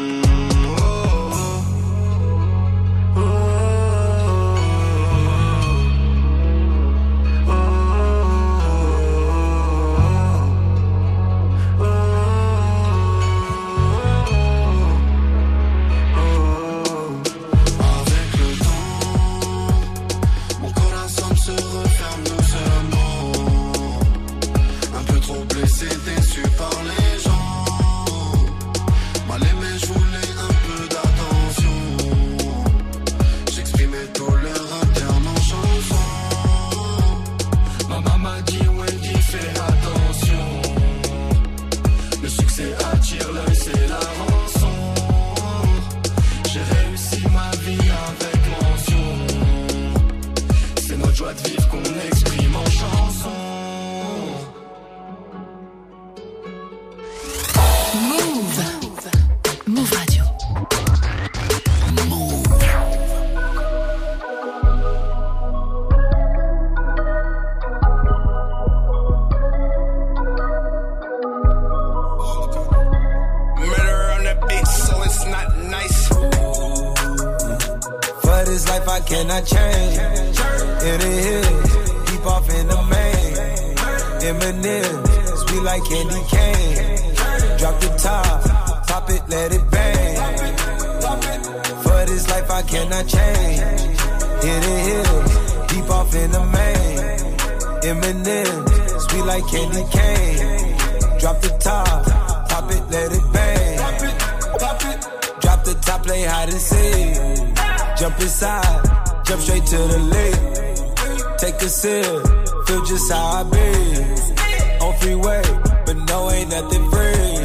Cannot change in the hills, deep off in the main. Eminem, sweet like candy cane. Drop the top, pop it, let it bang. For this life I cannot change. In the hills, deep off in the main. Eminem, sweet like candy cane. Drop the top, pop it, let it bang. Drop the top, play hide and seek. Jump inside, jump straight to the lake. Take a sip, feel just how I be. On freeway, but no, ain't nothing free.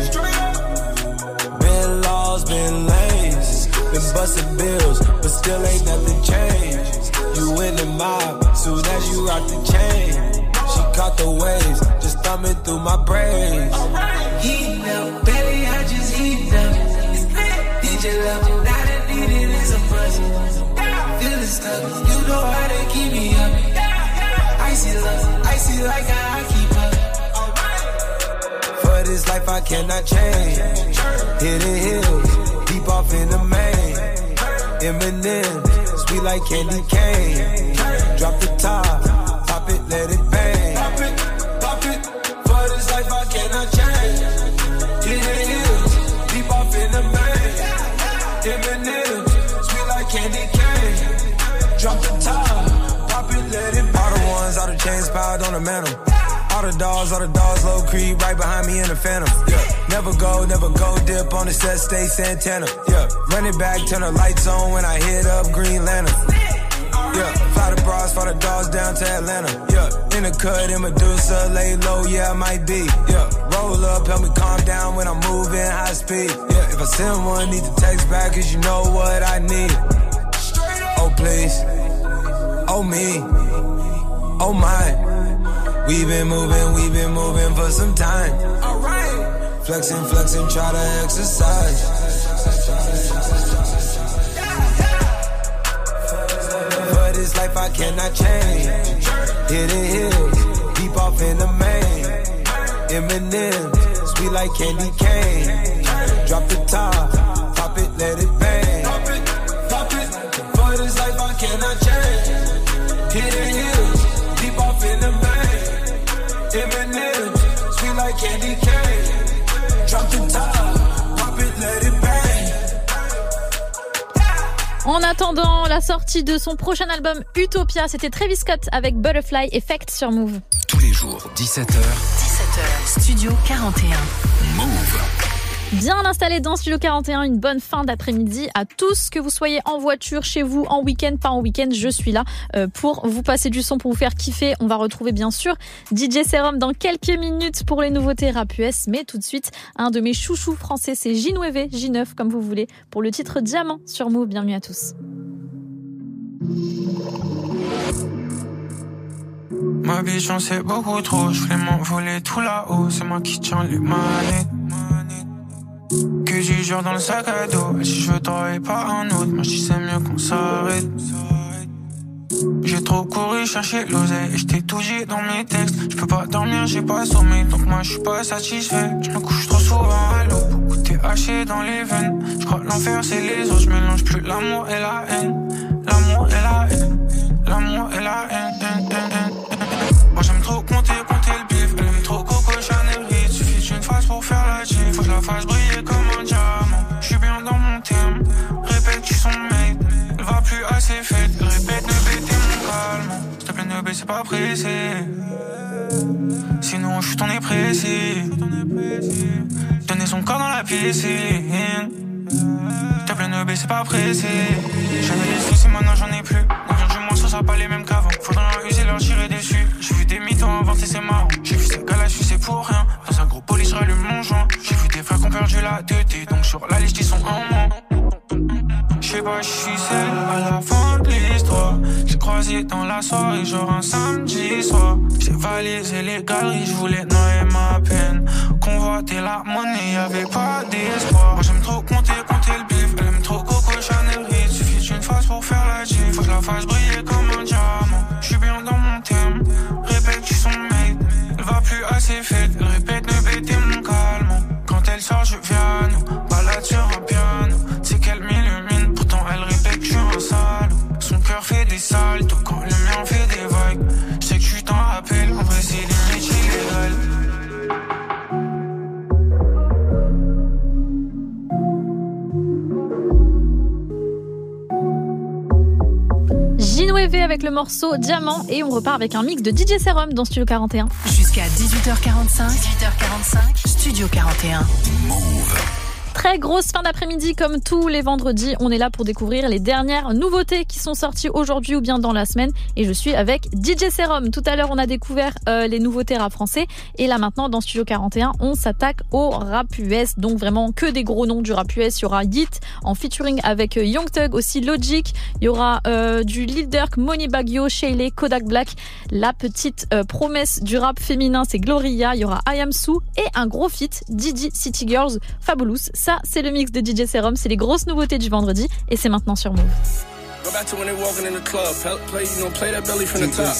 Been laws, been lanes. Been busting bills, but still ain't nothing changed. You in the mob, soon as you rock the chain. She caught the waves, just thumbing through my brains. Heat up, baby, I just heat up. Need your love, not a need it is a buzz. Feeling stuck, you know how they keep me up. Icy love, icy like I keep up. For this life I cannot change. Hidden hills, deep off in the main. Eminem, sweet like candy cane. Drop the top, pop it, let it bang. Pop it, pop it. For this life I cannot change. Hidden hills, deep off in the main. Eminem, sweet like candy cane. Drop the top, pop it, let it bang. All the ones, all the chains piled on the mantle. All the dogs, all the dogs, low creep right behind me in the phantom. Yeah, never go, never go dip on the set, stay Santana. Yeah, run it back, turn the lights on when I hit up Green Lantern. Yeah, fly the bras, fly the dogs down to Atlanta. Yeah, in the cut, in Medusa, lay low, yeah, I might be. Yeah, roll up, help me calm down when I'm moving high speed. Yeah, if I send one, need to text back, cause you know what I need. Oh, please. Oh, me. Oh, my. We've been moving, we've been moving for some time. Alright. Flexing, flexing, try to exercise. For this life I cannot change. Hidden hills, deep off in the main. Eminem, sweet like candy cane. Drop the top, pop it, let it bang. Pop it, pop it. For this life I cannot change. Hidden hills, deep off in the main. Eminem, sweet like candy cane. Drop the top, pop it, let it bang. En attendant la sortie de son prochain album Utopia, c'était Travis Scott avec Butterfly Effect sur Move. Tous les jours, dix-sept heures. dix-sept heures, Studio quarante et un. Move. Bien installé dans Studio quarante et un, une bonne fin d'après-midi à tous, que vous soyez en voiture, chez vous, en week-end, pas en week-end, je suis là pour vous passer du son, pour vous faire kiffer. On va retrouver bien sûr D J Serum dans quelques minutes pour les nouveautés rap U S, mais tout de suite, un de mes chouchous français, c'est J neuf, J neuf comme vous voulez, pour le titre Diamant sur Move. Bienvenue à tous. Ma vie j'en sais beaucoup trop, je voulais m'envoler tout là-haut, c'est moi qui tiens les manettes. Que j'y jure dans le sac à dos, et si je t'aurais pas un autre, moi j'dis c'est mieux qu'on s'arrête. J'ai trop couru chercher l'oseille, et j't'ai tout dit dans mes textes. J'peux pas dormir, j'ai pas sommeil, donc moi j'suis pas satisfait. J'me couche trop souvent à l'eau, beaucoup t'es haché dans les veines. J'crois que l'enfer c'est les autres, j'mélange plus l'amour et la haine. L'amour et la haine, l'amour et la haine, haine, haine, haine. Moi j'aime trop compter, compter le bif. Elle aime trop Coco Chanel Reed. Suffit d'une phase pour faire la gif. Faut que je la fasse briller comme un diamant. J'suis bien dans mon terme. Répète tu son mate. Elle va plus assez faite. Elle répète ne bêter mon calme. S'il te plaît ne baisse pas pressé. Sinon j'suis ton précis. Donner son corps dans la piscine. S'il te plaît ne baisse pas pressé. J'avais les soucis maintenant j'en ai plus. Ça sera pas les mêmes qu'avant. Faudra leur user, leur tirer dessus. J'ai vu des mythos inventés, c'est marrant. J'ai vu ces gars-là, je sais pour rien. Dans un gros police, je rallume mon joint. J'ai vu des frères qui ont perdu la tête. Donc sur la liste, ils sont en moins. J'sais pas, j'suis seul à la fin de l'histoire. J'ai croisé dans la soirée, genre un samedi soir. J'ai validé les galeries, j'voulais noyer ma peine. Convoiter la monnaie, y'avait pas d'espoir. Moi j'aime trop compter, compter le bif. Elle aime trop Coco Chanel Reed. Suffit d'une phase pour faire la gif. Faut que je la fasse briller comme un diamant. J'suis bien dans mon thème. Répète tu son mate. Elle va plus assez faite. Elle répète ne bêter mon calme. Quand elle sort je viens à nous. Balade sur un piano. C'est qu'elle m'illumine. Pourtant elle répète que j'suis un salaud. Son cœur fait des saltos quand le mien fait des vagues. J'sais que tu t'en rappelles. En vrai c'est limite illégal. J neuf avec le morceau Diamant et on repart avec un mix de D J Serum dans Studio quarante et un. Jusqu'à dix-huit heures quarante-cinq. dix-huit heures quarante-cinq. Studio quarante et un. Move. Très grosse fin d'après-midi comme tous les vendredis. On est là pour découvrir les dernières nouveautés qui sont sorties aujourd'hui ou bien dans la semaine. Et je suis avec D J Serum. Tout à l'heure, on a découvert euh, les nouveautés rap français. Et là maintenant, dans Studio quarante et un, on s'attaque au rap U S. Donc vraiment que des gros noms du rap U S. Il y aura Yeat en featuring avec Young Thug, aussi Logic. Il y aura euh, du Lil Durk, Money Bagyo, Shayley, Kodak Black. La petite euh, promesse du rap féminin, c'est Gloria. Il y aura I Am Sue et un gros feat, Didi, City Girls, Fabulous. Ça, c'est le mix de D J Serum, c'est les grosses nouveautés du vendredi et c'est maintenant sur Move. Go back to when they walking in the club, play, you know, play that belly from the top.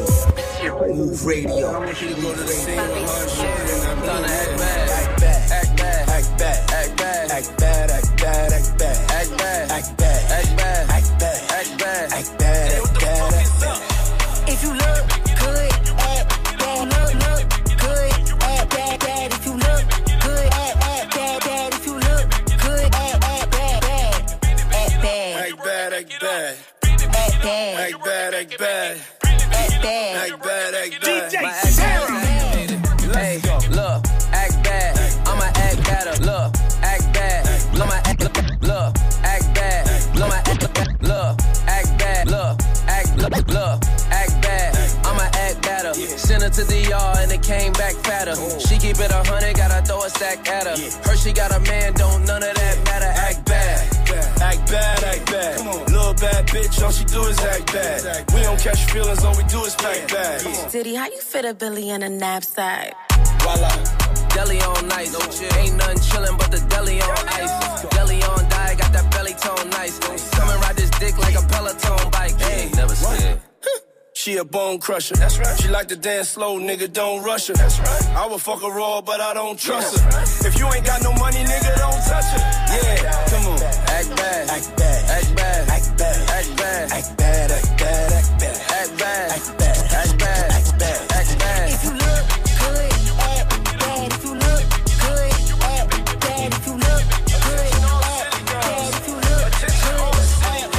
Move radio. I want you to go to the scene with her shit and I'm gonna act bad, act bad, act bad, act bad, act bad, act bad, act bad, act bad, act bad, act bad, act bad, act bad, act bad, act bad, act bad. If you look good, act bad, look, look good, act bad, bad. If you look good, act bad, bad. If you look good, act bad, bad, act bad, act bad, act bad, act bad, act bad, act bad, act bad, act bad, act bad. D J Serum. Hey, look, act bad. I'ma act better. Look, act bad. Look, my act, look, look, act bad. Look, my act, look, look, act bad. Look, act, look, look, act bad. I'ma act better. Send her to the yard and it came back fatter. She keep it a hundred, gotta throw a stack at her. Her she got a man, don't none of that matter. Act bad, act bad, act bad. Little bad bitch, all she do is act bad. We don't catch feelings, all we do is pack bags. Diddy, how you fit a Billy in a knapsack? Voila. Deli on nice, no chill. Ain't nothing chillin' but the deli on ice. Deli on diet, got that belly tone nice. Come and ride this dick like a Peloton bike. Hey, never slid. She a bone crusher. That's right. She like to dance slow, nigga, don't rush her. That's right. I would fuck her raw, but I don't trust her. Right. If you ain't got no money, nigga, don't touch her. Yeah, come on. Act bad, act bad, act bad, act bad, act bad, act bad, act bad, act bad, act bad, act bad, act bad, act bad, act bad. If you look good, act bad. If you look good, act bad. If you look good, act bad. If you look good, act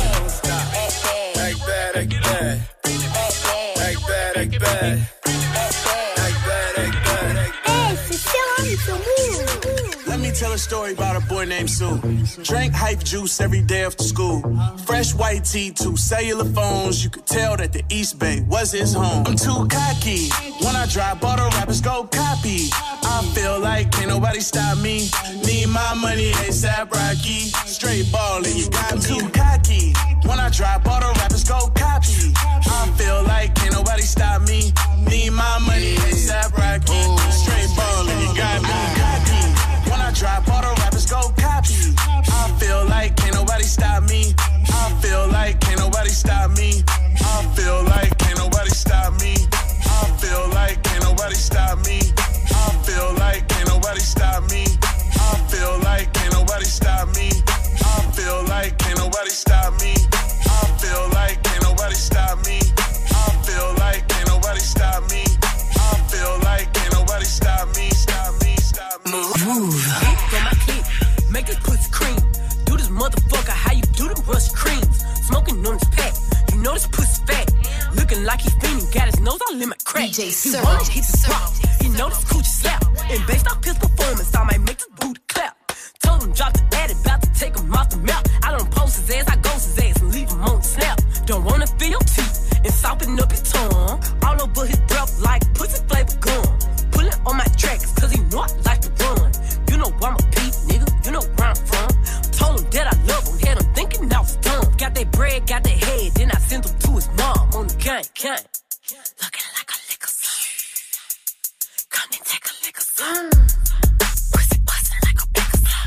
bad. Act bad, act bad. Act bad, act bad. Act bad, act bad. Hey, c'est Serum sur Move. Let me tell a story about a boy named Sue. Drank hype juice every day after school. Fresh white tee, two cellular phones. You could tell that the East Bay was his home. I'm too cocky. When I drop, all the rappers go copy. I feel like ain't nobody stop me. Need my money ASAP Rocky. Straight ballin', you got me. I'm too cocky. When I drop, all the rappers go copy. I feel like ain't nobody stop me. Need my money ASAP Rocky. Straight ballin', you got me. When I drop, all the rappers go copy. I feel like ain't nobody stop me. I feel like ain't nobody stop me. I feel like ain't nobody stop me. I feel like ain't nobody stop me. I feel like ain't nobody stop me. I feel like ain't nobody stop me. I feel like ain't nobody stop me. I feel like ain't nobody stop me. I feel like ain't nobody stop me. I feel like ain't nobody stop me. Stop me, stop me. Move. Got my clip, make this pussy cream. Do this motherfucker how you do them rush creams. Smoking on this pack, you know this pussy fat. Looking like he fiending, got his nose all in my crack. D J he wanna hit the drop, he know this coochie slap. And based off his performance, I might make this booty clap. Told him drop the addy, about to take him off the map. I don't post his ass, I ghost his ass and leave him on the snap. Don't wanna feel your teeth and soften up his tongue. All over his breath like pussy flavor gum. Pulling on my tracks, cause he know I like to run. You know I'm a Pete, nigga, you know where I'm from. Told him that I love him, had him thinking I was dumb. Got that bread, got that head, then I sent him to his mom on the gang, gang. Looking like a liquor son. Come and take a liquor son. Pussy bustin' like a bigger son.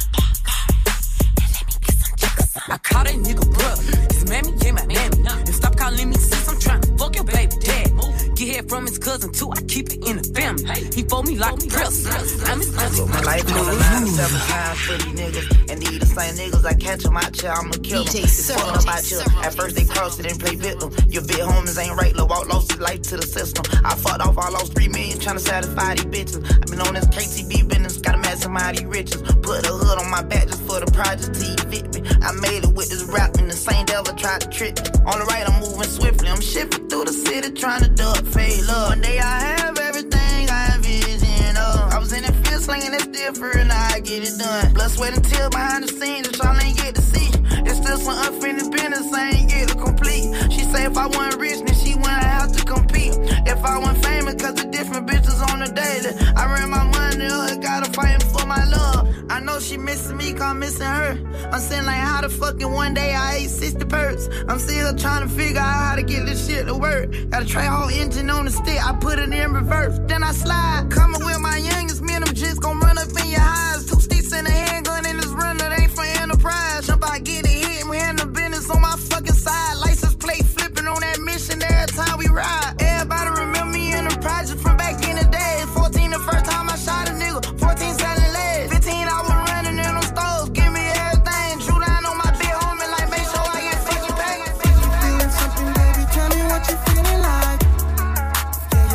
And let me get some chicken son. I call that nigga bruh, his mammy ain't my mammy. And stop calling me sis, I'm tryna fuck your baby dad. Get head from his cousin too, I keep it in the family. He fold me like a press. I'm his cousin. My life on the line seven times for these niggas. And these the same niggas I catch them out here, I'ma kill them. It's fucked up out here. At first they crossed it and play victim. Your big homies ain't right, lil' walk lost his life to the system. I fucked off, I lost three million tryna satisfy these bitches. I been on this K T B business, gotta maximize these riches. Put a hood on my back just for the project till you fit me. I made it with this rap and the same devil tried to trick me. On the right, I'm moving swiftly. I'm shifting through the city trying to duck, fade love. One day I have everything I envision of. I was in the field slinging that still for now I get it done. Blood, sweat, and tears behind the scenes that y'all ain't get to see. It's still some unfinished business I ain't get to complete. She say if I wasn't rich, then she wouldn't have to compete. If I wasn't famous, cause the different bitches on the daily. I ran my money up, gotta fight for my love. I know she missing me, cause I'm missing her. I'm saying like how the fucking one day I ate sixty perks. I'm still trying to figure out how to get this shit to work. Gotta try whole engine on the stick, I put it in reverse. Then I slide, coming with my youngest men, them just gon' run up in your eyes. Two sticks and a handgun in this run, that ain't for enterprise. Jump out, get it hit, we handle business on my fucking side. License plate flipping on that mission every time we ride. Everybody remember me in the project from back in the day. fourteen the first time I shot a nigga, fourteen selling legs. fifteen I was running in them stores, give me everything. Drew down on my big homie, like make sure I get fucking paid. You feeling something, baby? Tell me what you feeling like. Yeah,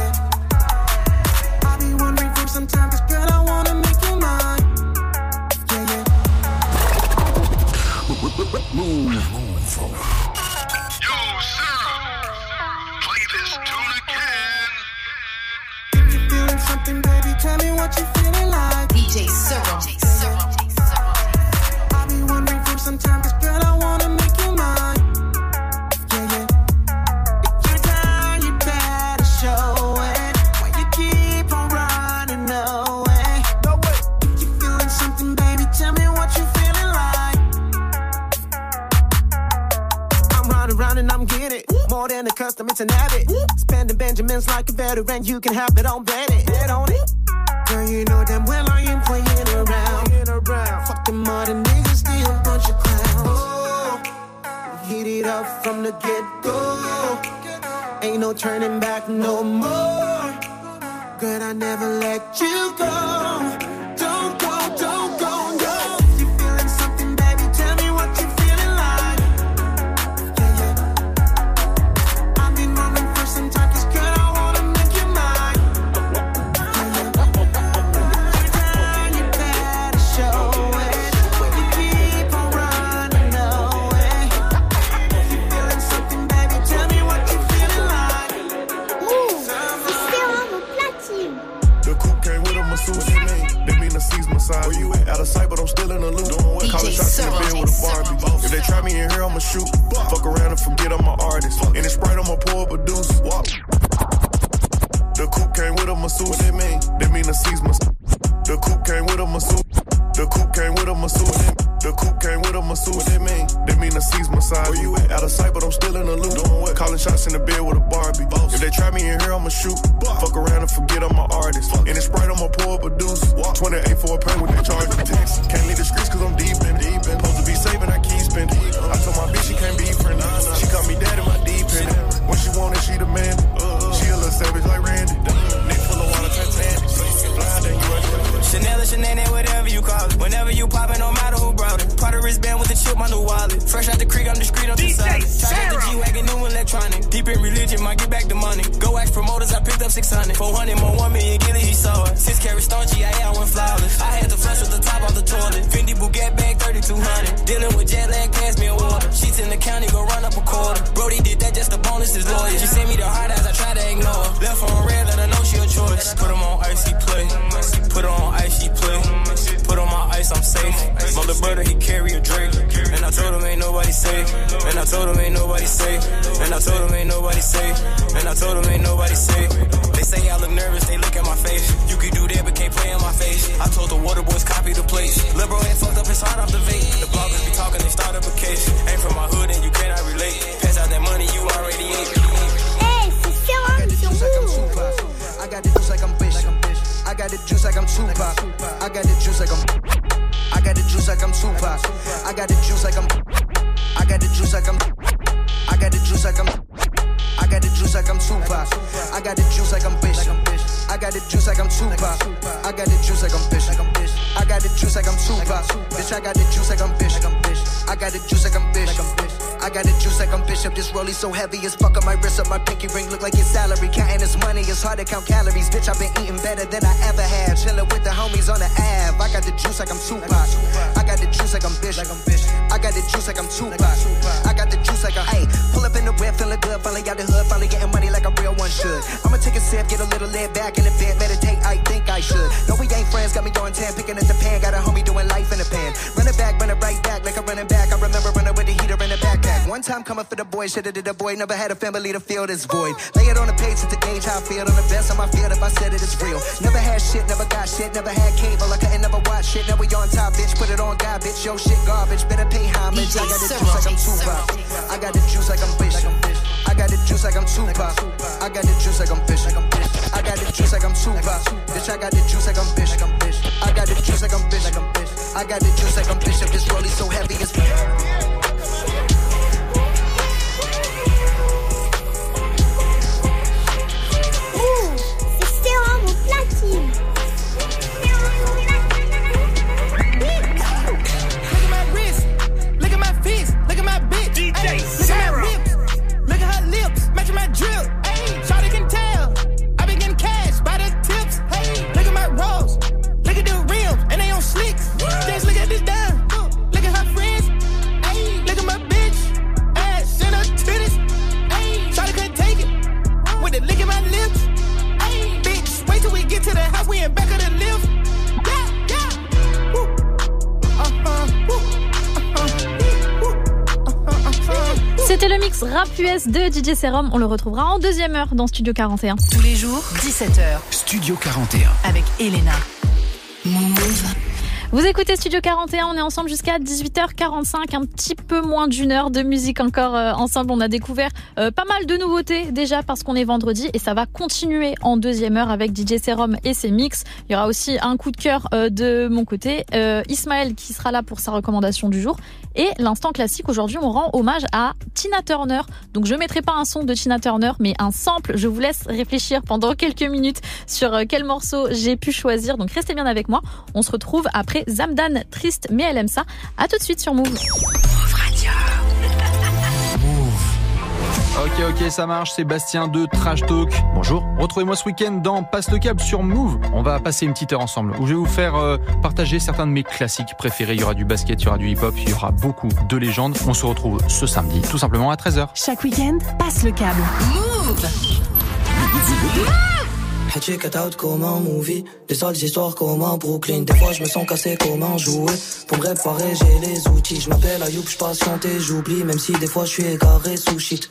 yeah. I be wondering from sometimes, girl, I wanna make you mine. Yeah, yeah. Move. Yo, Sarah, play this tune again. If you feeling something, baby, tell me what you feeling like. D J Serum. I be wondering from sometimes, girl, I wanna make you mine. Yeah, yeah. If you're down, you better show it. Why you keep on running away? No way. If you feeling something, baby, tell me what you feeling like. I'm running around and I'm getting it. More than a custom, it's an habit. Spending Benjamins like a veteran, you can have it on bet it. Bet on it. Girl, you know damn well I ain't playing around. Fuck them other niggas, they a bunch of clowns. Oh, hit it up from the get-go. Ain't no turning back no more. Girl, I never let you go. Don't go, don't go, no. If you feeling something, baby, tell me what you feeling like. Yeah, yeah. I've been running for some time, cause girl, I wanna make you mine. Yeah, yeah. Every time you better show it. You keep on running away. If you feeling something, baby, tell me what you feeling like. Move, c'est Serum au platine. The coupe came with a masseuse in me. massage. Where you at? Out of sight, but I'm still in the loop. Calling shots in the bed with a Barbie. If they try me in here, I'ma shoot. Fuck around and forget I'm an artist. In the Sprite, I'ma pour up a deuce. The coupe came with a masseuse. What that mean? That mean the seas must. The coupe came with a masseuse. The coupe came with a masseuse. The coupe came with a masseuse. What that mean? That mean the seas massage. Where you at? Out of sight, but I'm still in the loop. Calling shots in the bed with a Barbie. If they try me in here, I'ma shoot. Fuck around and forget I'm an artist. In the Sprite, I'ma pour up a deuce. twenty-eight for a pain with that charge. Can't leave the streets cause I'm deep in. Deep in. Supposed to be saving, I keep spending. I told my bitch she can't be friendly. She call me daddy, my deep in. When she want it, she demand it. She a little savage like Randy. Nick full of water, Titanic. Blind and you Chanel or Chanel, whatever you call it. Whenever you poppin', no matter who brought it. Part of wristband with the chip, my new wallet. Fresh out the creek, I'm discreet, I'm decided. Try out the G-Wagon, new electronic. Deep in religion, might get back the money. Go ask promoters, I picked up six hundred. four hundred more, one million, get it, he saw it. Six carat stone, G I A, I went flawless. I had to flush with the top off the toilet. Fendi Bugatti bag, thirty-two hundred. Dealing with jet lag, pass me a water. Sheets in the county, go run up a quarter. Brody did that just to bonus his lawyer. She sent me the hard eyes, I try to ignore. Left on red, let her know she a choice. Put him on ice, he play. Put her on ice, she play. Put on my ice, I'm safe. My little brother, he carry a Drake. And I told him ain't nobody safe. And I told him ain't nobody safe. And I told him ain't nobody safe. And I told him ain't nobody safe. They say I look nervous, they look at my face. You can do that, but can't play in my face. I told the water boys copy the place. Lil' bro had fucked up his heart off the vape. The bloggers be talking, they start up a case. Ain't from my hood and you cannot relate. Pass out that money, you already ate. Hey, c'est Serum sur Move. I got the juice like I'm Bishop. I got the juice like I'm Tupac. I got the juice like I'm. I got the juice like I'm Tupac. I got the juice like I'm. I got the juice like I'm. I got the juice like I'm. I got the juice like I'm Tupac. I got the juice like I'm Bishop. I got the juice like I'm Tupac. I got the juice like I'm Bishop. I got the juice like I'm Tupac. Bitch, I got the juice like I'm Bishop. I got the juice like I'm Bishop. I got the juice like I'm Bishop. This rollie so heavy as fuck on my wrist up. My pinky ring look like your salary. Counting this money, it's hard to count calories. Bitch, I've been eating better than I ever had. Chilling with the homies on the Ave. I got the juice like I'm Tupac. I got the juice like I'm Bishop. I got the juice like I'm Tupac. I got the juice like I'm. Hey, pull up in the whip, feeling good. Finally out the hood, finally getting money like a real one should. I'ma take a sip, get a little laid back in the bed, meditate. I think I should. No, we ain't friends, got me going tan, picking at the pan. Got a homie doing life in the pan. Running back, running right back, like I'm running back. I remember running with the heater in the backpack. One time coming for the boy, should've did the boy. Never had a family to fill this void. Lay it on the page to gauge how I feel. On the best on my field, if I said it, it's real. Never had shit, never got shit, never had cable. I couldn't never watch shit. Now we on top, bitch. Put it on God, bitch. Yo, shit garbage. Better pay homage. I got the juice like I'm Tupac. I got the juice like I'm Bishop. I got the juice like I'm Tupac. I got the juice like I'm Bishop. I got the juice like I'm Tupac. Bitch, I got the juice like I'm Bishop. I got the juice like I'm Bishop. I got the juice like I'm Bishop. This rollie so heavy as Move, c'est Serum au platine. Look at my wrist, look at my fist, look at my bitch. D J look at my whips, look at her lips, matching my drip. Hey, shawty can tell, I been getting cash by the tips. Hey, look at my rolls, look at the rims, and they on slicks. Just look at this down, look at her friends. Hey, look at my bitch, ass and her titties. Hey, shawty couldn't take it, with the lick at my lips. Hey, bitch, wait till we get to the house, we in back of the lift. Yeah, yeah. Woo. Uh-huh. Woo. C'était le mix rap U S de D J Serum. On le retrouvera en deuxième heure dans Studio quarante et un. Tous les jours, dix-sept heures. Studio quarante et un. Avec Elena. Move. Vous écoutez Studio quarante et un, on est ensemble jusqu'à dix-huit heures quarante-cinq, un petit peu moins d'une heure de musique encore euh, ensemble. On a découvert euh, pas mal de nouveautés déjà parce qu'on est vendredi et ça va continuer en deuxième heure avec D J Serum et ses mix. Il y aura aussi un coup de cœur euh, de mon côté, euh, Ismaël qui sera là pour sa recommandation du jour. Et l'instant classique, aujourd'hui on rend hommage à Tina Turner. Donc je mettrai pas un son de Tina Turner mais un sample. Je vous laisse réfléchir pendant quelques minutes sur euh, quel morceau j'ai pu choisir. Donc restez bien avec moi, on se retrouve après Zamdan, triste mais elle aime ça. À tout de suite sur Move. Move Radio. Ok, ok, ça marche, c'est Bastien de Trash Talk. Bonjour. Retrouvez-moi ce week-end dans Passe le câble sur Move. On va passer une petite heure ensemble où je vais vous faire euh, partager certains de mes classiques préférés. Il y aura du basket, il y aura du hip-hop, il y aura beaucoup de légendes. On se retrouve ce samedi, tout simplement à treize heures. Chaque week-end, passe le câble. Move. Head check out comme un movie. Des sales histoires comme un Brooklyn. Des fois je me sens cassé comme un jouet. Pour me réparer j'ai les outils. Je m'appelle Ayoub, je patiente et j'oublie. Même si des fois je suis égaré sous shit.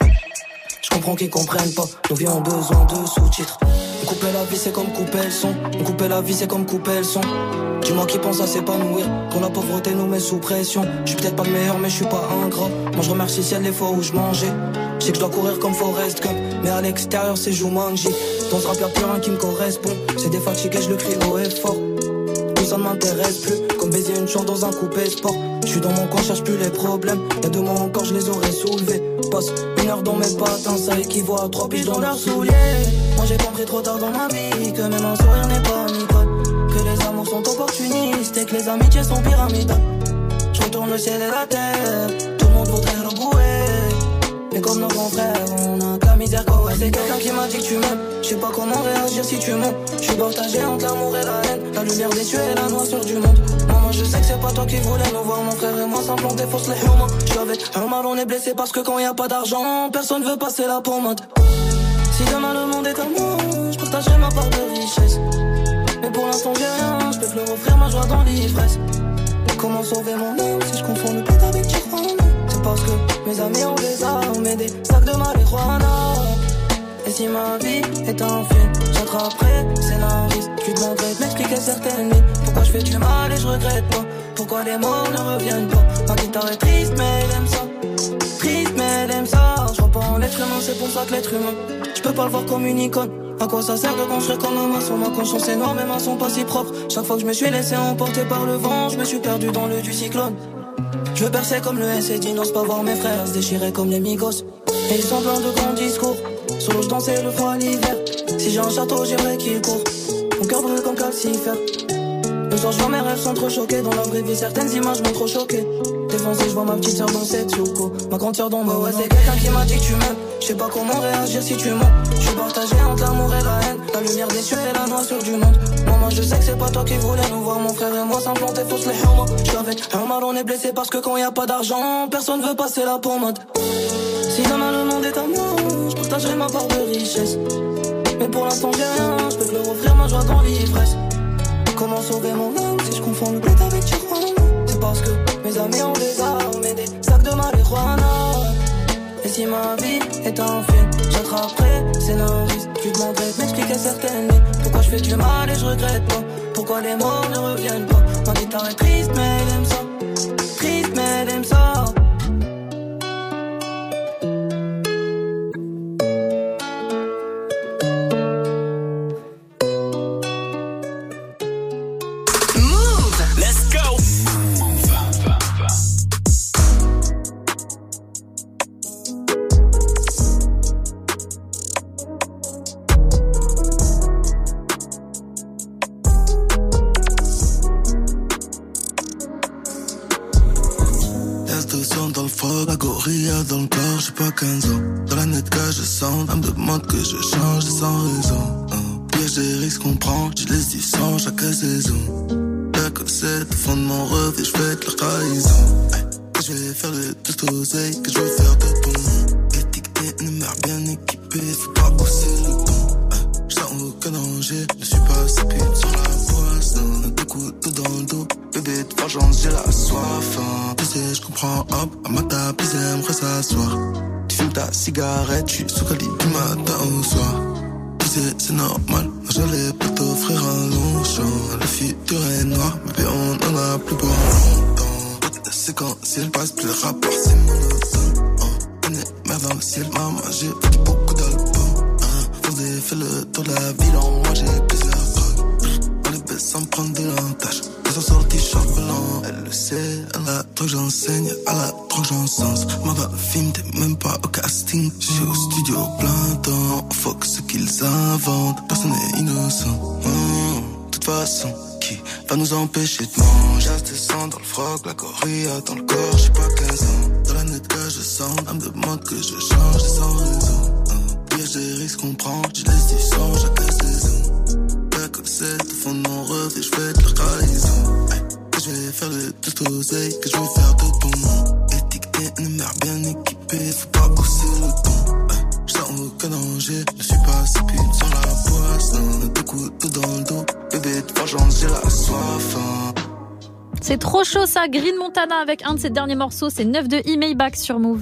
Je comprends qu'ils comprennent pas, nos vies ont besoin de sous-titres. On couper la vie c'est comme couper le son. On couper la vie c'est comme couper le son. Dis-moi qui pense à s'épanouir, quand la pauvreté nous met sous pression. Je suis peut-être pas le meilleur mais je suis pas ingrat. Moi je remercie ciel les fois où je mangeais. Je sais que je dois courir comme Forrest Gump, mais à l'extérieur c'est Jumanji. Dans ce rap y'a plus rien qui me correspond. C'est des fatigues et je le crie haut et fort. Tout ça ne m'intéresse plus, comme baiser une chambre dans un coupé sport. Je suis dans mon coin, cherche plus les problèmes. Y'a deux mois encore je les aurais soulevés. Passe une heure dans mes patins, ça équivaut à trois piges dans leurs souliers. Moi j'ai compris trop tard dans ma vie que même un sourire n'est pas amical. Que les amours sont opportunistes et que les amitiés sont pyramidales. Je retourne le ciel et la terre, tout le monde voudrait rebrouer. Mais comme nos grands frères, on a qu'à misère quoi. Ouais, c'est quelqu'un qui m'a dit que tu m'aimes. Je sais pas comment réagir si tu montes. Je suis partagé entre l'amour et la haine. La lumière des cieux et la noirceur du monde. Maman je sais que c'est pas toi qui voulais nous voir. Mon frère et moi s'implanter fausse les humains. Je suis avec un mal, on est blessé parce que quand y a pas d'argent, personne veut passer la pommade. Si demain le monde est à moi, je partagerai ma part de richesse. Mais pour l'instant j'ai rien, je peux plus offrir ma joie dans l'ivresse. Comment sauver mon âme si je confonds le pète avec Tijuana? C'est parce que mes amis ont des armes et des sacs de marijuana. Et si ma vie est un film, j'attraperai scénariste. Tu demanderais de m'expliquer certaines nuits. Pourquoi je fais du mal et je regrette pas. Pourquoi les morts ne reviennent pas. Ma guitare est triste mais elle aime ça. Triste mais elle aime ça. Je crois pas en l'être humain, c'est pour ça que l'être humain, je peux pas le voir comme une icône. À quoi ça sert de construire comme un maçon? Ma conscience est noire, mes mains sont pas si propres. Chaque fois que je me suis laissé emporter par le vent, je me suis perdu dans le du cyclone. Je veux percer comme le S et n'ose pas voir mes frères se déchirer comme les Migos. Et ils sont pleins de grands discours. Sous l'eau je dansais le froid l'hiver. Si j'ai un château j'aimerais qu'il court. Mon cœur brûle comme calcifère. Le soir je vois mes rêves s'entrechoquer. Dans la vraie vie certaines images m'ont trop choqué. Défoncé je vois ma petite sœur dans cette souko. Ma grande sœur dans ma ouais c'est quelqu'un qui m'a dit que tu m'aimes. Je sais pas comment réagir si tu mens. Je suis partagé entre l'amour et la haine. La lumière des cieux et la noirceur du monde. Maman je sais que c'est pas toi qui voulais nous voir. Mon frère et moi s'implanter fausse les humains. Je suis avec un mal, on est blessé parce que quand y a pas d'argent, personne veut passer la pommade. Si demain le monde est à moi, je partagerai ma part de richesse. Mais pour l'instant j'ai rien, je peux leur offrir ma joie dans l'ivresse. Comment sauver mon âme si je confonds le bled avec Tijuana? C'est parce que mes amis ont des armes et des sacs de marijuana. Et si ma vie est un film, j'attraperai scénariste. Tu demanderais de m'expliquer certaines nuits. Pourquoi je fais du mal et je regrette pas. Pourquoi les morts ne reviennent pas. Ma guitare est triste mais elle aime ça. Triste mais elle aime ça. Dans le corps, j'ai pas quinze ans. Dans la net que je sens, elle me demande que je change sans raison. Oh. Piège des risques qu'on prend, je les dis sans chaque saison. La cassette au fond de mon rêve et je fête leur trahison. Hey. Que je vais faire de tout oseille, que je vais faire de bon. Étiqueté, une mère bien équipée, faut pas hausser le ton. Hey. Je sens aucun danger, je suis pas assez pute sur la poisson. Deux coups dans le dos, bébé de vengeance, j'ai la soif. Hein. Tu sais, je comprends, hop, à ma table, ils aimeraient s'asseoir. Tu fumes ta cigarette, je suis sous calibre du matin au soir. Tu sais, c'est normal, moi j'allais pas t'offrir un long champ. Le futur est noir, mais on en a plus pour longtemps. C'est quand ciel passe, plus le rapport c'est monotone. Oh, on est merde dans le ciel, maman, j'ai pris beaucoup d'albums. Hein, j'ai fait le tour de la ville, en moi j'ai plusieurs drogues. On les baisse sans prendre de l'entache. Ils sont sortis charbelants, elle le sait. Elle a trop que j'enseigne, elle a trop que j'encense. Moi dans le film, t'es même pas au casting. J'suis au studio plein temps. On fuck ce qu'ils inventent, personne n'est innocent. De toute façon, qui va nous empêcher de manger? J'ai des sang dans le froc, la corrida dans le corps, j'ai pas quinze ans. Dans la net que je sens, elle me demande que je change sans raison. Piège des risques qu'on prend, je les dis sans chaque saison. C'est au fond de mon rêve et je fais de leur trahison. Hey. Que je vais faire de tout oseille, que je vais faire de bon. Étiqueté, une mère bien équipée, faut pas pousser le ton. Hey. Je sens aucun danger. Je suis pas si pute sur la poisse. Deux coups dans le dos. Bébé de vengeance, j'ai la soif. C'est trop chaud ça, Green Montana avec un de ses derniers morceaux, c'est neuf de E-Maybach sur Move.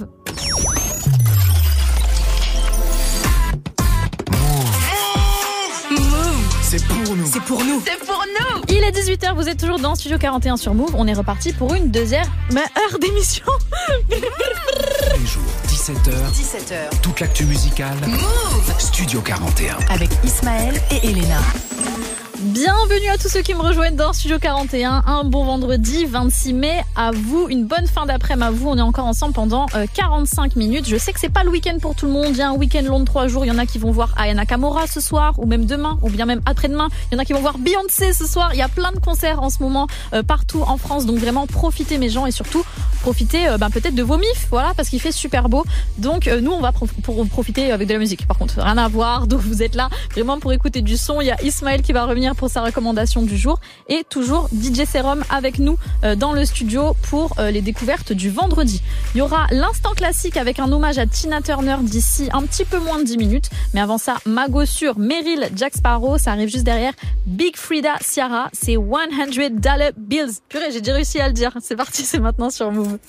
C'est pour nous. C'est pour nous. C'est pour nous. Il est dix-huit heures, vous êtes toujours dans Studio quarante et un sur Move. On est reparti pour une deuxième heure d'émission. Tous les jours, dix-sept heures. dix-sept heures. Toute l'actu musicale. Move. Studio quarante et un. Avec Ismaël et Elena. Bienvenue à tous ceux qui me rejoignent dans Studio quarante et un. Un bon vendredi vingt-six mai à vous. Une bonne fin d'après-midi à vous. On est encore ensemble pendant euh, quarante-cinq minutes. Je sais que c'est pas le week-end pour tout le monde. Il y a un week-end long de trois jours. Il y en a qui vont voir Aya Nakamura ce soir ou même demain ou bien même après-demain. Il y en a qui vont voir Beyoncé ce soir. Il y a plein de concerts en ce moment euh, partout en France. Donc vraiment profitez mes gens et surtout profitez euh, ben, peut-être de vos mifs. Voilà, parce qu'il fait super beau. Donc euh, nous on va prof- pour profiter avec de la musique. Par contre rien à voir. Donc vous êtes là vraiment pour écouter du son. Il y a Ismaël qui va revenir pour sa recommandation du jour et toujours D J Serum avec nous euh, dans le studio pour euh, les découvertes du vendredi. Il y aura l'instant classique avec un hommage à Tina Turner d'ici un petit peu moins de dix minutes, mais avant ça Mago sur Meryl, Jack Sparrow, ça arrive juste derrière Big Frida Ciara, c'est one hundred dollar bills. Purée, j'ai déjà réussi à le dire. C'est parti, c'est maintenant sur Move.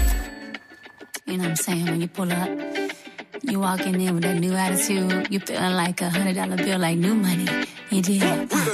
You know what I'm saying? When you pull up, you walking in with a new attitude. You feeling like a hundred dollar bill, like new money. You did.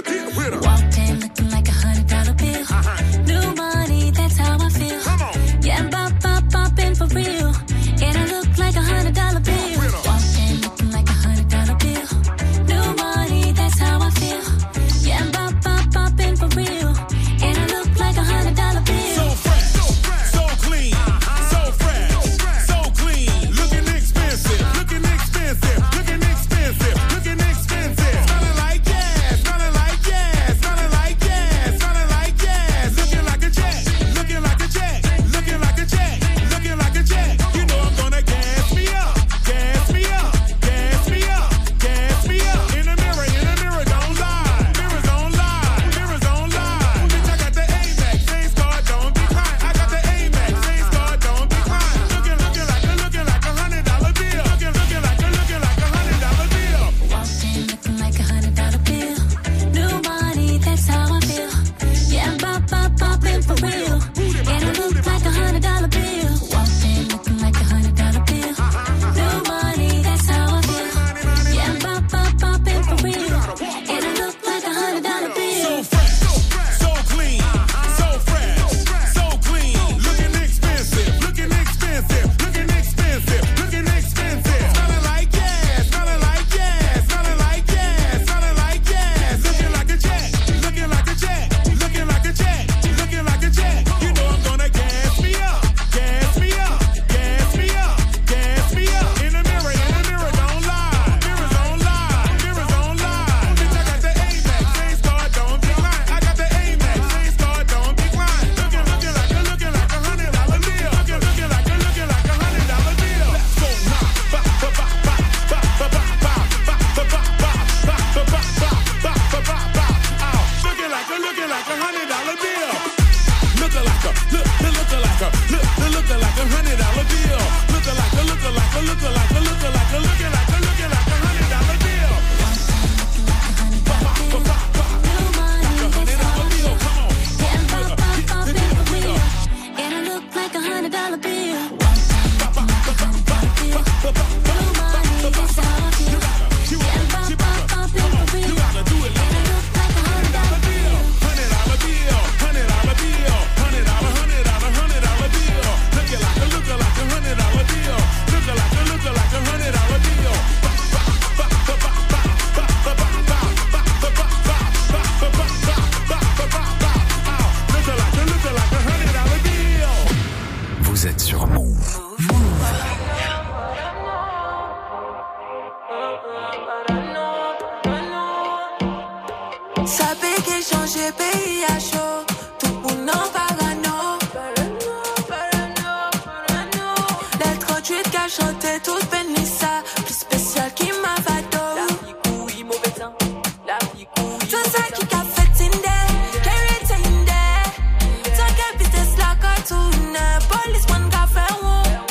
Uh, walked in looking like a hundred dollar bill. Uh-huh. New money, that's how I feel. Yeah, bop, bop, poppin' for real. And I look like a hundred dollar bill. Walked in looking like a hundred dollar bill. New money, that's how I feel. Yeah, bop, bop, poppin' for real. And I look like a hundred dollar bill. So fresh, so fresh, so clean, so fresh, so clean. Looking expensive, looking expensive, looking expensive, looking expensive. Smelling like gas, smelling like gas, smelling like gas, smelling like gas. Looking like a jet, looking like a jet, looking like a jet, looking like a jet. You know I'm gonna gas me up, gas me up, gas me up, gas me up. In the mirror, in the mirror, don't lie. Mirrors don't lie, mirrors don't lie. Bitch, I got the Amex, same scar, don't decline. I got the Amex, same scar, don't decline. Looking, looking like a, looking like a hundred dollar bill. Looking, looking like a, looking like a hundred dollar bill. Walked in looking like a hundred dollar bill. New money, that's how I feel. Yeah, I'm bop, bop, poppin' for real. And I look like a hundred dollar bill. Walked in looking like a hundred dollar bill. New money, that's how I feel. Yeah, I'm bop, bop, poppin' for real. And I look like a hundred dollar bill. So fresh, so clean, so fresh, so clean. Looking expensive, looking expensive, looking expensive, looking expensive. Smelling like gas, smelling like gas, smelling like gas, smelling like gas. Looking like a jet, looking like a jet, looking like a jet, looking like a jet. You know I'm gonna gas me up, gas me up, gas me up, gas me up. In the mirror, in the mirror, don't lie. Mirrors don't lie, mirrors don't lie. Bitch, I got the Amex, same scar, don't decline. I got the Amex, same scar, don't decline. Looking, looking like a, looking like a hundred dollar bill. Looking, looking like a, looking like a hundred dollar bill. Let's go now. Ba ba ba ba ba ba ba ba ba ba ba ba ba ba ba ba ba ba ba. Ow. Looking like a, looking like a hundred dollar bill. Looking like a, look, looking like a, look, looking like a hundred dollar bill. Looking like a, looking like a, looking like a, looking like a, looking like a, looking like a hundred dollar bill. Ba ba ba ba ba. Like a hundred dollar bill. Come on. Yeah, I'm bop, bop, poppin' for real. And I look like a hundred dollar bill. New money, that's how I feel. Yeah, I'm bop, bop, poppin' for real. And I look like a hundred dollar bill. Hundred dollar bill, hundred dollar bill, hundred dollar, hundred dollar, hundred dollar bill. Looking like a, looking like a hundred dollar bill. Looking like a, looking like a hundred dollar bill. Ba ba ba ba ba ba ba ba ba ba ba ba ba ba ba ba ba ba ba. Ow. Looking like a, looking like a hundred dollar bill. Vous êtes sur Move. Saber que changer pays à chaud, tout pour non parano. Les trente-huit qu'à chanter toute Benissa, plus spécial qui m'a vado. La vie couille, mauvais temps, la vie couille. Tout ça qui qu'a fait Tinder, carry Tinder. Tant qu'à vitesse la cartoon, police man qu'a fait one.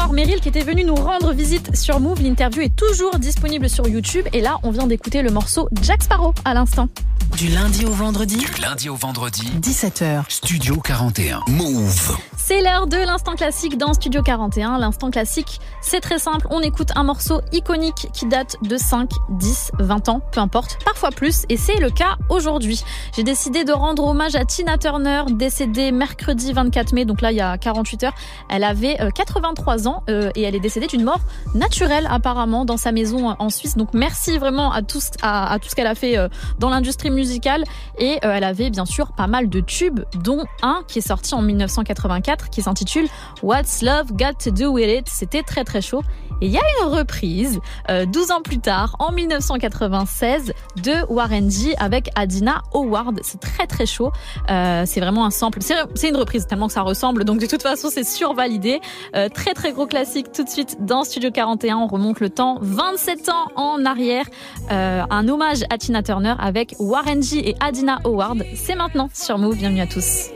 soir, Meryl qui était venu nous rendre visite sur Move. L'interview est toujours disponible sur YouTube. Et là, on vient d'écouter le morceau Jack Sparrow à l'instant. Du lundi au vendredi. Du lundi au vendredi. dix-sept heures. Studio quarante et un. Move. C'est l'heure de l'instant classique dans Studio quarante et un. L'instant classique, c'est très simple. On écoute un morceau iconique qui date de cinq, dix, vingt ans, peu importe, parfois plus. Et c'est le cas aujourd'hui. J'ai décidé de rendre hommage à Tina Turner, décédée mercredi vingt-quatre mai, donc là il y a quarante-huit heures. Elle avait quatre-vingt-trois ans euh, et elle est décédée d'une mort naturelle apparemment dans sa maison en Suisse. Donc merci vraiment à tout, à, à tout ce qu'elle a fait euh, dans l'industrie musicale. Et euh, elle avait bien sûr pas mal de tubes, dont un qui est sorti en dix-neuf cent quatre-vingt-quatre qui s'intitule What's Love Got to Do With It. C'était très très chaud. Et il y a une reprise euh, douze ans plus tard, en dix-neuf cent quatre-vingt-seize, de Warren G avec Adina Howard. C'est très très chaud. Euh, c'est vraiment un sample. C'est, c'est une reprise tellement que ça ressemble. Donc de toute façon, c'est survalidé. Euh, très très gros classique tout de suite dans Studio quarante et un. On remonte le temps vingt-sept ans en arrière. Euh, un hommage à Tina Turner avec Warren G et Adina Howard. C'est maintenant sur Move. Bienvenue à tous.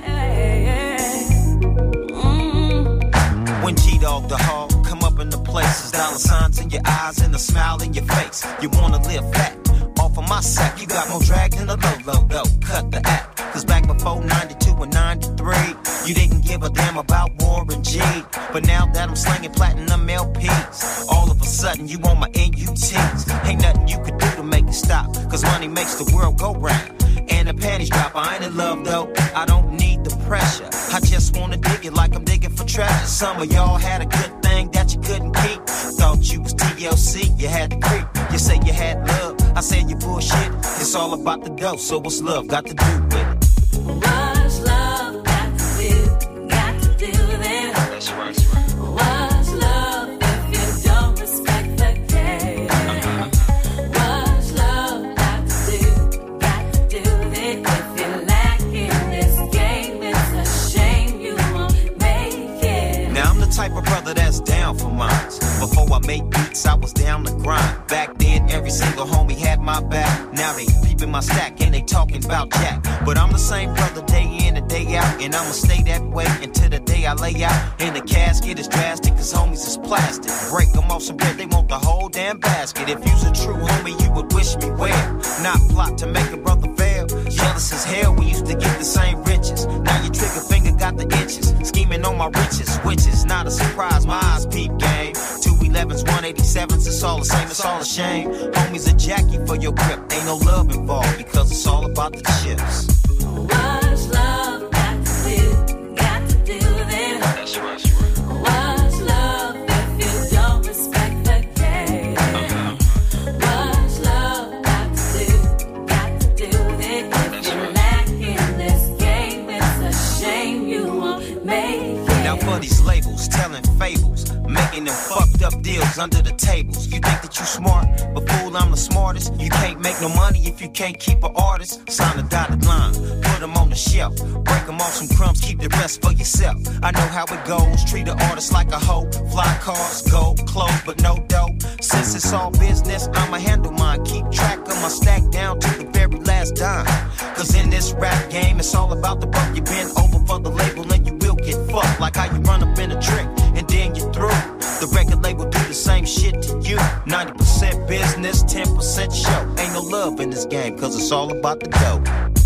When G-Dog the hog come up in the places, dollar signs in your eyes and a smile in your face. You wanna live fat off of my sack. You got more drag than a low, low, low. Cut the act. Cause back before ninety-two and ninety-three, you didn't give a damn about Warren G. But now that I'm slinging platinum L Ps, all of a sudden you on my N U Ts. Ain't nothing you could do to make it stop. Cause money makes the world go round. And the panties drop, I ain't in love though, I don't need the pressure. I just wanna dig it like I'm digging for treasure. Some of y'all had a good thing that you couldn't keep. Thought you was T L C, you had to creep. You say you had love, I said you bullshit. It's all about the dough, so what's love got to do with it? What's love got to do, got to do with it? That's right, that's right. What's love if you don't respect the game? Uh-huh. What's love got to do, got to do with it? If you lack in this game, it's a shame you won't make it. Now I'm the type of brother that's down for mines. Before I made beats, I was down the grind. Back then, every single homie had my back. Now they peeping my stack and they talking about Jack. But I'm the same brother day in and day out. And I'ma stay that way until the day I lay out. And the casket is drastic, cause homies is plastic. Break them off some bread, they want the whole damn basket. If you's a true homie, you would wish me well. Not plot to make a brother fail. Jealous as hell, we used to get the same riches. Now your trigger finger got the itches. Scheming on my riches, which is not a surprise. My eyes peep game. two elevens, one eighty-sevens, it's all the same, it's all a shame. Homies a Jackie for your grip. Ain't no love involved because it's all about the chips. What's love got to do, got to do with it? That's right, that's right. What's love if you don't respect the game? Uh-huh. What's love got to do, got to do with it? If you lack in this game, it's a shame you won't make it. Now for these labels, telling fables, making them fucked up deals under the tables. You think that you smart, but fool, I'm the smartest. You can't make no money if you can't keep an artist. Sign a dotted line, put them on the shelf. Break them off some crumbs, keep the rest for yourself. I know how it goes, treat an artist like a hoe. Fly cars, gold, clothes, but no dough. Since it's all business, I'ma handle mine. Keep track of my stack down to the very last dime. Cause in this rap game, it's all about the buck. You bend over for the label and you will get fucked. Like how you run up in a trick and then you're through. The record label do the same shit to you. ninety percent business, ten percent show. Ain't no love in this game, cause it's all about the dough.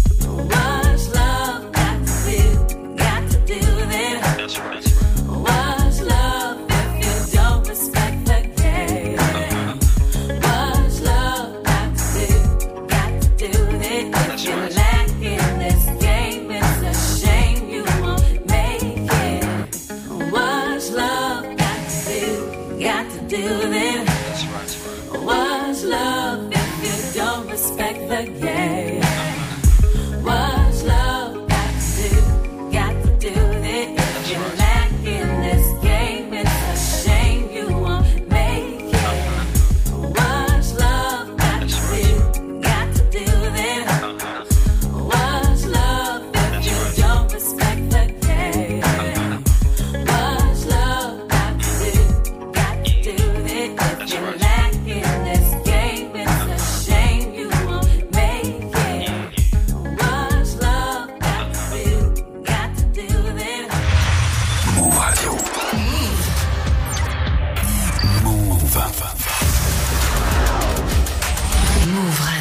What's love got to do, got to do with it? That's right, that's right. What's love if you don't respect the game? Uh-huh. What's love got to do, got to do with it? If you lack in this game, it's a shame you won't make it. What's love got to do, got to do with it? That's right, that's right. What's love if you don't respect the game? What's love got to do, got to do with it? If you lack in this game, it's a shame you won't make it. What's love got to do, got to do with it? What's love if you don't respect the game? What's love got to do, got to do with it? If you lack in this game, it's a shame you won't make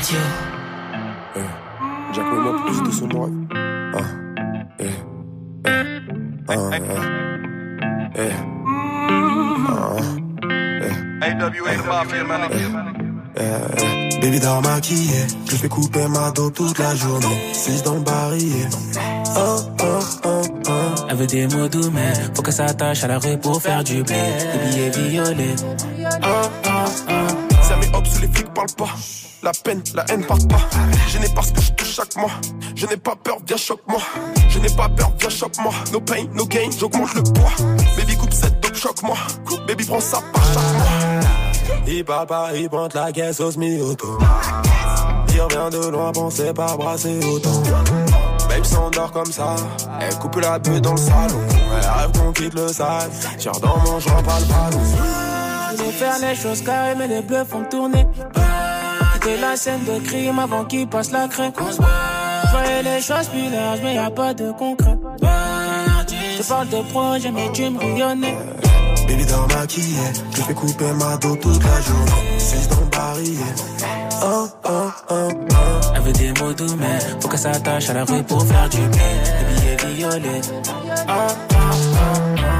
Radio. Eh, Jack Memo, plus de son moi. Ah, eh, eh, ah, eh, eh, ah, eh. A W A, the mafia, man. Eh, eh. Baby dort maquillée, je fais couper ma dos toute la journée. Six dans le barillet. Oh, oh, oh, oh. Elle veut des mots doux, mais faut qu'elle s'attache à la rue pour faire du blé. Des billets violets. Oh, oh, oh. Ça met hop sous les flics, parle pas. La peine, la haine part pas. Je n'ai pas ce que je touche chaque mois. Je n'ai pas peur, viens choque-moi. Je n'ai pas peur, viens choque-moi. No pain, no gain, j'augmente le poids. Baby coupe cette dope, choque-moi. Baby prends ça par chaque mois. Il parle pas, il pointe la caisse au semi-auto. Il revient de loin, pensez pas brasser autant. Babe s'endort comme ça. Elle coupe la bulle dans le salon. Elle rêve qu'on quitte le sale. Tire dans mon joint, pas le ballon. Je vais faire les choses carrées, mais les bleus font tourner. Quitter la scène de crime avant qu'il passe la craie. Je voyais les choses plus larges, mais y'a pas de concret. Je parle de projet, mais tu me rayonnais. Baby dort maquillée, je fais couper ma dos toute la journée. Six dans le barillet. Oh, oh, oh, oh. Elle veut des mots doux, mais faut qu'elle s'attache à la rue pour faire du blé. Des billets violets. Oh, oh, oh, oh.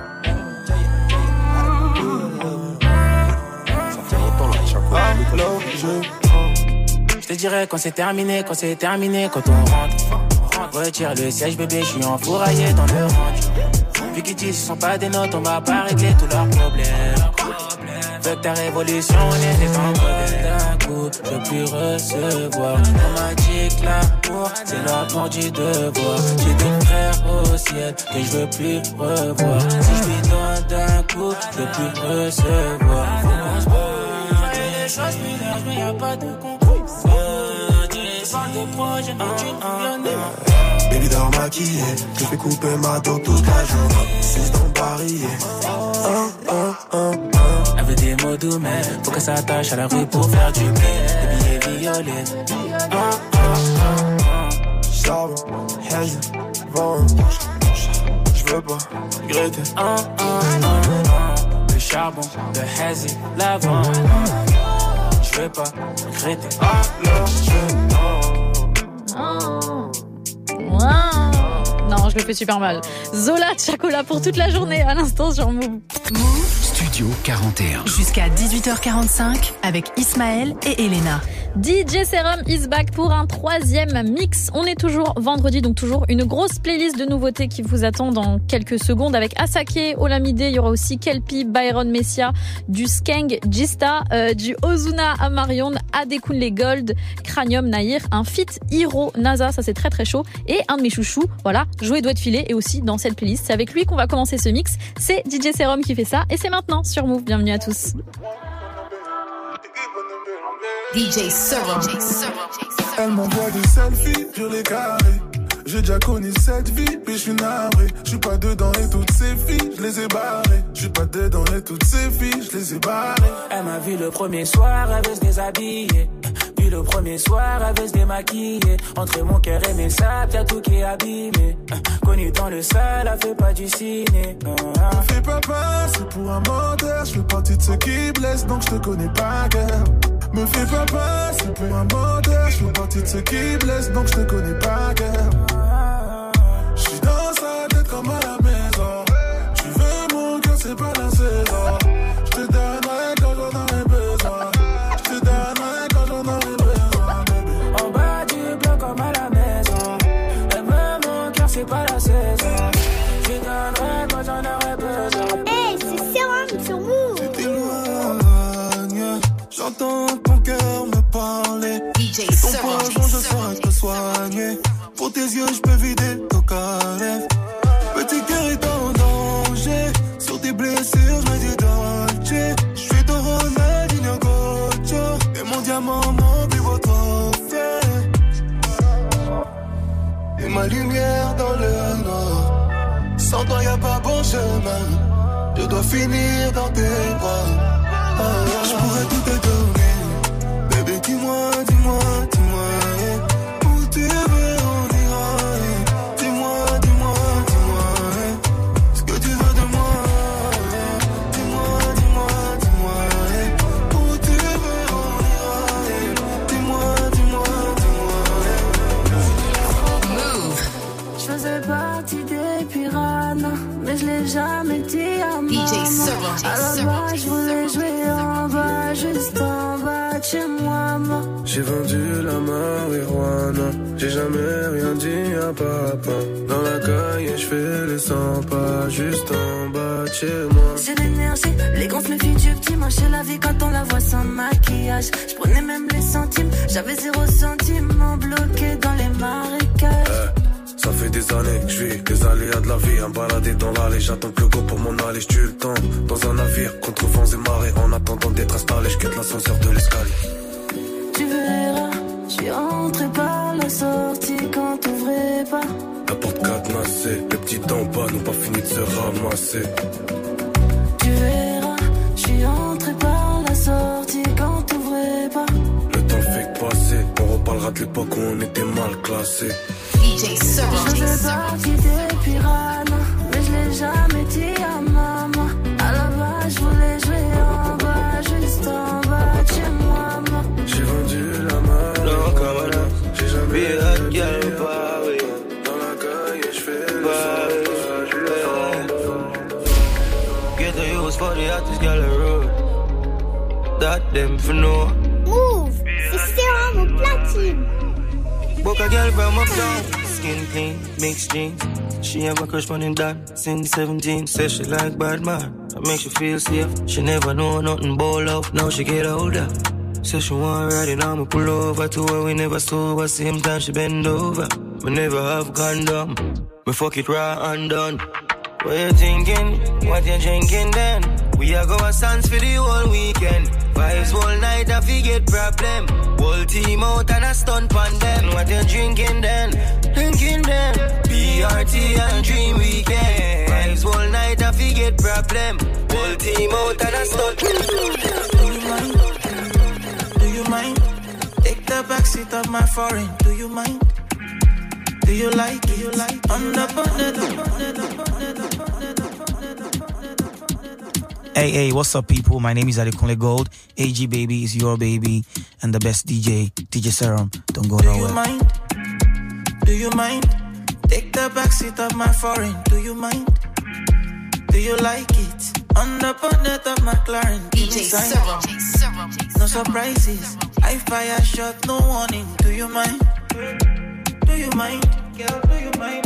Je te dirais quand c'est terminé, quand c'est terminé, quand on rentre. Retire le siège bébé, je suis enfouraillé dans le range. Vu qu'ils disent ce sont pas des notes, on va pas régler tous leurs problèmes. Veux que ta révolution, on était en problème. D'un coup, je veux plus recevoir. On m'a dit que l'amour, c'est l'amour du devoir. J'ai des frères au ciel que je veux plus revoir. Si je lui donne d'un coup, je veux plus recevoir. Faut qu'on se voit. Les choses plus larges, mais y'a pas de concours. Je parle de projet, mais tu me viens. Baby dort maquillée, je fais couper ma dos toute la journée. Six dans le barillet. Oh, oh, oh, oh. Elle veut des mots doux, mais faut qu'elle s'attache à la rue pour faire du blé. Des billets violets. Oh, oh, oh, oh. Charbon, hazy, vent. Je veux pas regretter. Oh, oh, oh, oh. Le charbon, le hazy, l'avant. Je veux pas regretter. Oh, là, je Non, je le fais super mal. Zola Chacola pour toute la journée à l'instant sur Move. Move Studio quarante et un. Jusqu'à dix-huit heures quarante-cinq avec Ismaël et Elena. D J Serum is back pour un troisième mix. On est toujours vendredi, donc toujours une grosse playlist de nouveautés qui vous attend dans quelques secondes avec Asake, Olamide, il y aura aussi Kelpie, Byron Messia, du Skeng, Gista, euh, du Ozuna Amarion, Adekunle Gold, Cranium Nahir, un feat Hiro NASA, ça c'est très très chaud, et un de mes chouchous, voilà, Joey doit filer et aussi dans cette playlist. C'est avec lui qu'on va commencer ce mix. C'est D J Serum qui fait ça et c'est maintenant sur Move. Bienvenue à tous. D J Serum. Elle m'envoie des selfies, je les carrés. J'ai déjà connu cette vie, puis je suis navré. Je suis pas dedans et toutes ces filles, je les ai barrées. Je suis pas dedans et toutes ces filles, je les ai barrées. Elle m'a vu le premier soir, elle veut se déshabiller. Vu le premier soir, elle veut se démaquiller. Entre mon cœur et mes sables, y'a tout qui est abîmé. Connue dans le sale, elle fait pas du ciné. Me fais pas passer pour un menteur. Je fais partie de ceux qui blessent, donc je te connais pas, girl. Me fais pas passer pour un menteur. Je fais partie de ceux qui blessent, donc je te connais pas, girl. Je suis dans sa tête comme à la maison. Tu veux mon cœur, c'est pas la saison. Je te donnerai quand j'en aurai besoin. Je te donnerai quand j'en aurai besoin, bébé. En bas du bloc comme à la maison. Elle veut mon cœur, c'est pas la saison. Je te donnerai quand j'en aurai besoin. Hey, c'est Serum sur Move. Si t'éloignes, j'entends ton cœur me parler. D J Ton Serum. poison, je saurais te soigner. Pour tes yeux, je peux vider ton calèche. Petit cœur est en danger. Sur tes blessures, je me dis Dolce. Je suis ton Ronaldinho Gocho. Et mon diamant, mon plus beau trophée. Et ma lumière dans le noir. Sans toi, y'a pas bon chemin. Je dois finir dans tes bras. Ah, je pourrais tout te donner. Bébé, dis-moi, dis-moi, dis-moi. Où tu veux, on ira. Dis-moi, dis-moi, dis-moi. Ce que tu veux de moi. Dis-moi, dis-moi, dis-moi. Où tu veux, on ira. Dis-moi, chez moi, moi. J'ai vendu la marijuana, j'ai jamais rien dit à papa. Dans la caille, je fais les cent pas, juste en bas de chez moi. J'ai l'énergie, les gonfles filles du petit marché la vie quand on la voit sans maquillage. Je prenais même les centimes, j'avais zéro centime, en bloqué dans les marécages. Hey. Ça fait des années que je vis les aléas de la vie, un baladé dans l'allée, j'attends que le go pour m'en aller, j'tue le temps dans un navire, contre vents et marées, en attendant d'être installé, j'quitte l'ascenseur de l'escalier. Tu verras, j'suis rentré par la sortie quand t'ouvrais pas. La porte cadenassée, les petits en bas n'ont pas fini de se ramasser. Tu verras, j'suis rentré par la sortie quand t'ouvrais pas. Le temps fait que passer, on reparlera de l'époque où on était mal classés. D J Serum. Je faisais partie des piranhas, mais je l'ai jamais dit à maman. À la base, je voulais jouer en bas, juste en bas de chez moi, moi. J'ai vendu la marijuana, j'ai jamais rien dit à Paris. Dans la caille, je fais le Get the use for the hottest girl in road. That them for no. Move, c'est Serum au platine. Book a girl from uptown, skin clean, mixed jeans. She have a crush running that since seventeen. Says she like bad man, that makes you feel safe. She never know nothing about love, now she get older. Says she want ride it, I'ma pull over to her. We never sober, same time she bend over. We never have condom, we fuck it raw and done. What you thinking? What you drinking then? We are go a dance for the whole weekend. Vibes all night, I forget problem. Whole team out and a stunt on them. What you drinking then? Drinking then. P R T and Dream Weekend. Vibes all night, I forget problem. Whole team out and a stunt. Do you mind? Do you mind? Take the backseat of my foreign. Do you mind? Do you like it? Do you like it? On the bonnet, the bonnet, the bonnet, the bonnet, the bonnet, the bonnet, the bonnet. Hey, hey, what's up, people? My name is Adekunle Gold. A G Baby is your baby. And the best D J, D J Serum. Don't go nowhere. Do you mind? Do you mind? Take the backseat of my foreign. Do you mind? Do you like it? On the bonnet of my McLaren. D J Serum. No surprises. I fire shot, no warning. Do you mind? Do you mind? Girl, do you mind?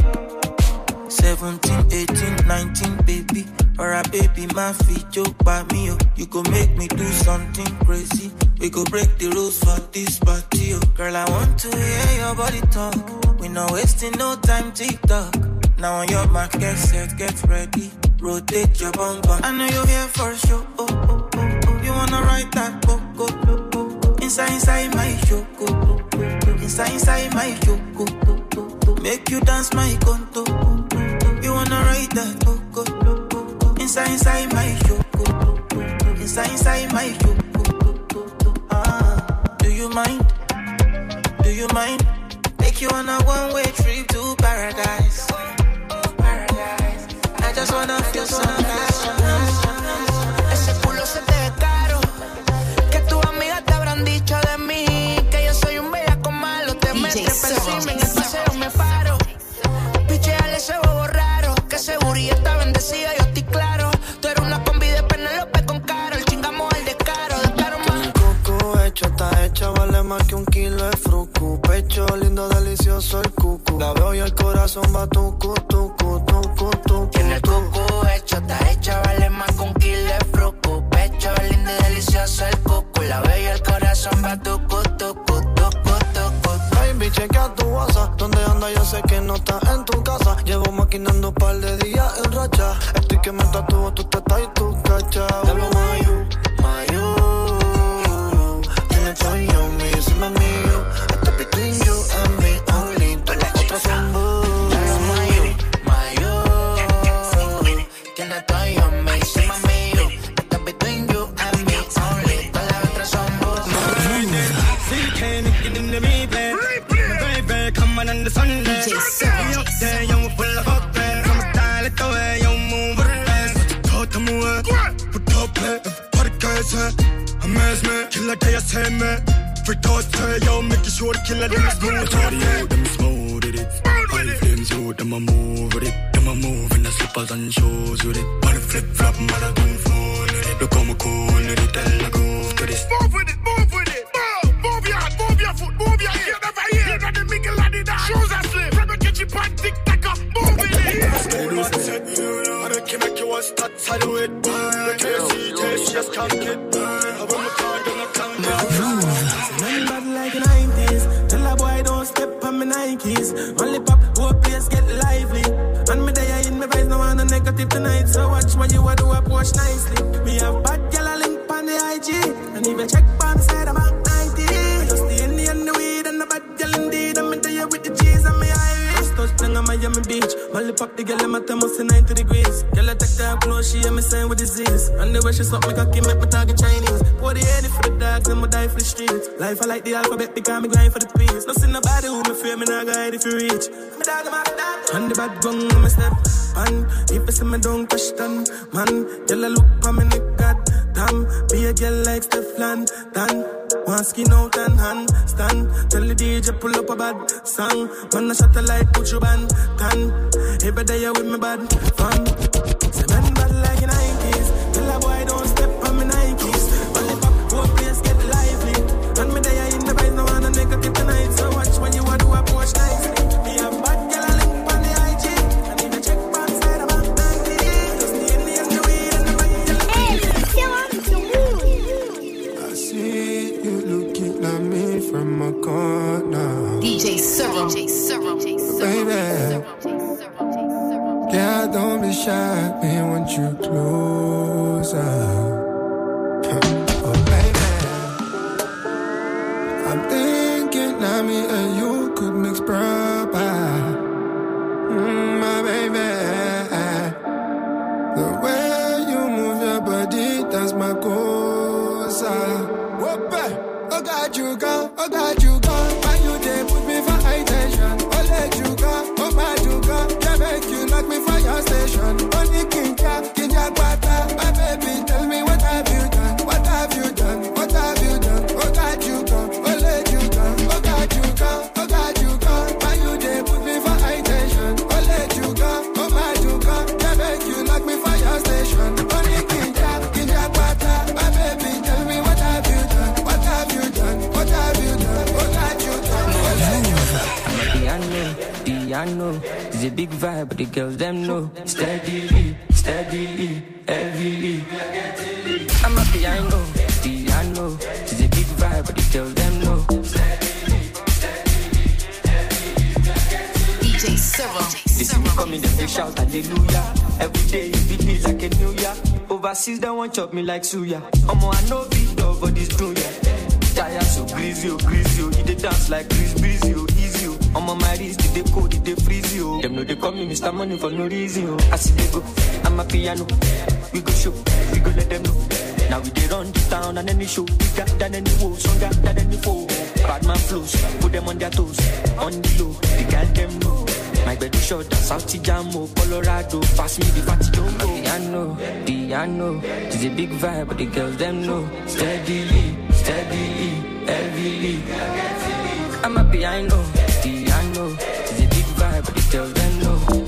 seventeen, eighteen, nineteen, baby. Or a baby, my feet joke by me, oh. You go make me do something crazy. We go break the rules for this party, oh. Girl, I want to hear your body talk. We not wasting no time, TikTok. Now on your mark, get set, get ready. Rotate your bum bum. I know you're here for sure, oh, oh, oh, oh. You wanna ride that book, oh, oh, oh, oh. Inside, inside my show, oh, oh, oh. Inside, inside my show, oh, oh, oh, oh. Make you dance my conto, oh, oh, oh. You wanna ride that book, oh, oh, oh, oh. Inside, inside my show, oh, oh, oh. Inside, inside my show, oh, oh, oh, oh. Ah, do you mind? Do you mind? Take you on a one-way trip to paradise. Paradise. I just wanna feel so nice. Ese culo se te ve caro. Que tus amigas te habrán dicho de mí. Que yo soy un bellaco malo. Te metes encima en el paseo me paro. Picheale ese bobo raro. Que seguridad está bendecida, yo estoy claro. Tú eres una combi de Penélope con Karol. Chingamos el descaro, descaro más. El coco hecho, está hecha, vale más que un kilo de fruco. Pecho lindo, delicioso el cucu. La veo y el corazón va tucu, tucu, tucu, tucu. Tiene el coco hecho, está hecha, vale más que un kilo de fruco. Pecho lindo y delicioso el cucu. La veo y el corazón va tucu, tucu, tucu, tucu. Baby, chequea tu WhatsApp. ¿Dónde anda? Yo sé que no estás en tu casa. Llevo maquinando un par de días en racha. Estoy que me tatúo tu teta y tu cacha. Hablo mayu, mayu. Tienes todo yo, mi, encima mío. Esto es between you and me only. Todas las otras son boo. Hablo mayu, mayu. Tienes todo yo, mi, encima mío. Esto es between you and me only. Todas las otras son boo. And the Sunday, we up there, young full of up there. From a style it the way you move it fast. Talk to me, put up play, podcast. Amaze me, killer day I say me. Free toast say yo, make sure the killer them smooth. Cardio them smooth with it. Five flames you, them a move with it. Them a move in the slippers and shoes with it. Body flip flop, mother don't fall with it. Look how me cool with it, tell the groove to this. Move with it, move with it. stats, I do it. The K C taste, just can't get. I want my card, then I can't get. Man bad like the nineties. Tell a boy don't step on my Nikes. Only pop, whole place get lively. And me there in my vibes, no one negative tonight. So watch what you a do, up watch nicely. Me have bad girl a link on the I G. And even check on the side of my ninety. Just the Indian, the weed, and the bad girl indeed. I'm in there with the cheese and me Irish. First touchdown on Miami Beach. Molly pop the girl in my thermos in ninety degrees. Girl I take her clothes, she and me saying with disease. And the way she suck me cocky make me target Chinese. Pour the head for the dogs and me die for the streets. Life I like the alphabet because me grind for the peace. No see nobody who me fear, me not guide if you reach. Me dog, my dog. And the bad gun on my step. And if you see me don't question, man. Girl I look for me neck, god damn. Be a girl like Stefan, Dan. One skin out and hand stand. Tell the D J pull up a bad song. Man I shot a light, put you band can. Every day you with me bad fam. Say man bad like in nineties. Tell a boy don't step on me Nikes. Only pop, whole place get lively. And me there in the vibes, no one negative tonight. So watch when you a do a watch nicely. Me a bad girl a link on the I G. And if you check back side of my ninety. Just the Indian, the weed and the bad girl. I see you looking at me from a corner. D J Serum, D J Serum, baby. Yeah, don't be shy, me want you closer. Oh, baby. I'm thinking now me and you could mix proper. Mm, my baby. The way you move your body, that's my cosa. Whoop, oh, got you go, oh, got you go. Why you there put me for high tension? Oh, let you go, oh, my you go. Yeah, make you knock me from your station. Only king cap, king jack butter. My baby, tell me what have you done? What have you done? What have you done? Oh, got you go, oh, let you go. Oh, got you go, oh, got you go. Why you there put me for high tension? Oh, let you go, oh, my you go. Yeah, make you knock me from your station. Only king cap, king jack butter. My baby, tell me what have you done? What have you done? What have you done? Oh, got you done. Oh, let you go. I'm a piano, piano. It's a big vibe, but the girls them know. Steadily, steadily, heavily. I'm a piano, piano. It's a big vibe, but the girls them know. D J Serum. They see me coming, then they shout hallelujah. Every day it be like a new year. Overseas they want chop me like suya. Omo I know big dog, but this do ya. Tire so greasy, oh greasy, oh. They dance like Chris Breezy, oh easy, oh. I'm on my wrist, they cold, they freeze, oh. Them know they call me Mister Money for no reason, oh. I see they go, I'm a piano. We go show, we go let them know. Now we they run the town and any show. Bigger than any woe, stronger than any foe. Bad man flows, put them on their toes. On the low, the girl them know. My bed is short, South Jamo, Colorado. Pass me the fatty don't go. Piano, piano. It's a big vibe, but the girls them know. Steadily, steadily, heavily. I'm a piano, piano. It's a big vibe, but the girls them know.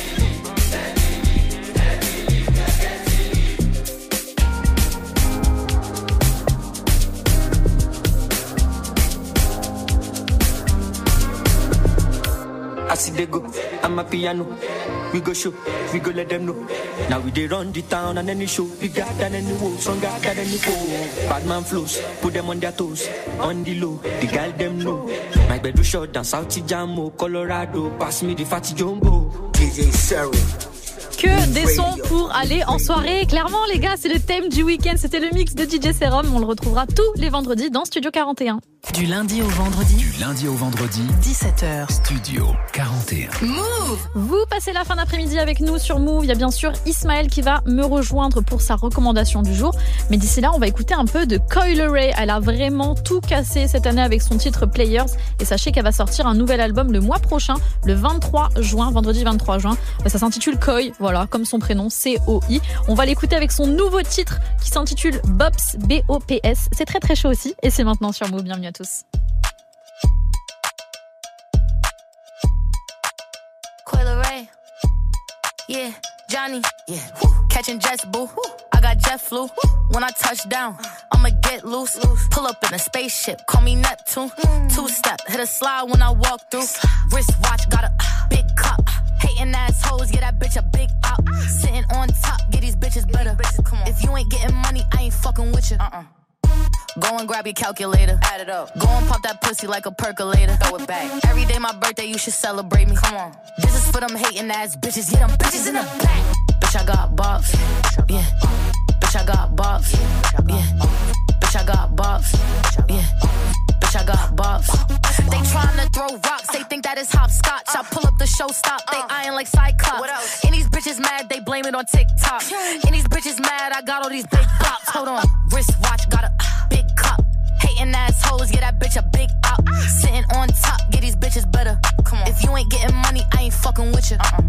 I see they go, I'm a piano. We go show, we go let them know. Now we they run the town and any show. Bigger than any woe, stronger than any foe. Bad man flows, put them on their toes. On the low, the girl them know. My bed was short down South Jamo, Colorado. Pass me the fatty jumbo. D J Serum. Que des sons pour aller en soirée. Clairement, les gars, c'est le thème du week-end. C'était le mix de D J Serum. On le retrouvera tous les vendredis dans Studio quarante et un. Du lundi au vendredi. Du lundi au vendredi. dix-sept heures. Studio quarante et un. Move! Vous passez la fin d'après-midi avec nous sur Move. Il y a bien sûr Ismaël qui va me rejoindre pour sa recommandation du jour. Mais d'ici là, on va écouter un peu de Coi Leray. Elle a vraiment tout cassé cette année avec son titre Players. Et sachez qu'elle va sortir un nouvel album le mois prochain, le vingt-trois juin, vendredi vingt-trois juin. Ça s'intitule Coi, voilà, comme son prénom, C O I. On va l'écouter avec son nouveau titre qui s'intitule Bops, B O P S. C'est très très chaud aussi. Et c'est maintenant sur Move. Bienvenue à tous. Coi Leray, yeah, Johnny, yeah, woo. Catching jets, boo. Woo. I got jet flu. Woo. When I touch down, I'ma get loose. loose. Pull up in a spaceship, call me Neptune. Mm. Two step, hit a slide when I walk through. Wrist watch, got a uh, big cup. Hating assholes, get that bitch a big out. Sitting on top, get these bitches better. If you ain't getting money, I ain't fucking with you. Uh-uh. Go and grab your calculator. Add it up. Go and pop that pussy like a percolator. Throw it back. Every day my birthday, you should celebrate me. Come on. This is for them hating ass bitches. Get them bitches in the back. Bitch, I got bops. Yeah. Bitch, I got bops. Yeah. Bitch, I got bops. Yeah. Bitch, I got bops. They tryna throw rocks. They think that is hopscotch. I pull up the show stop. They eyeing like Cyclops. And these bitches mad. They blame it on TikTok. And these bitches mad. I got all these big bops. Hold on. Wristwatch. Got a big cup. Hating assholes, get that bitch a big out. Sitting on top, get these bitches better. Come on. If you ain't getting money, I ain't fucking with you. Uh-uh.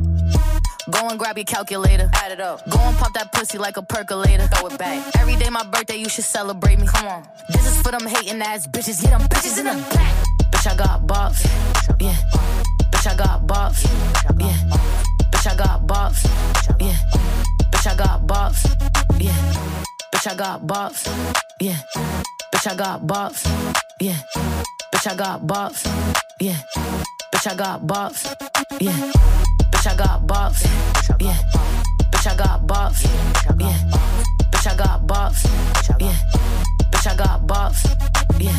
Go and grab your calculator. Add it up. Go and pop that pussy like a percolator. Throw it back. Every day my birthday, you should celebrate me. Come on. This is for them hating ass bitches. Get them bitches in the back. Bitch, I got bops. Yeah. Bitch, I got bops. Yeah. Bitch, I got bops. Yeah. Bitch, I got bops. Yeah. Bitch, I got bops. Yeah. Bitch, I got bops. Yeah. Bitch, I got bops. Yeah. Bitch, I got bops. Yeah. Bitch, I got bops. Yeah. Bitch, I got bops. Yeah. Bitch, I got bops. Yeah. Bitch, I got bops. Yeah.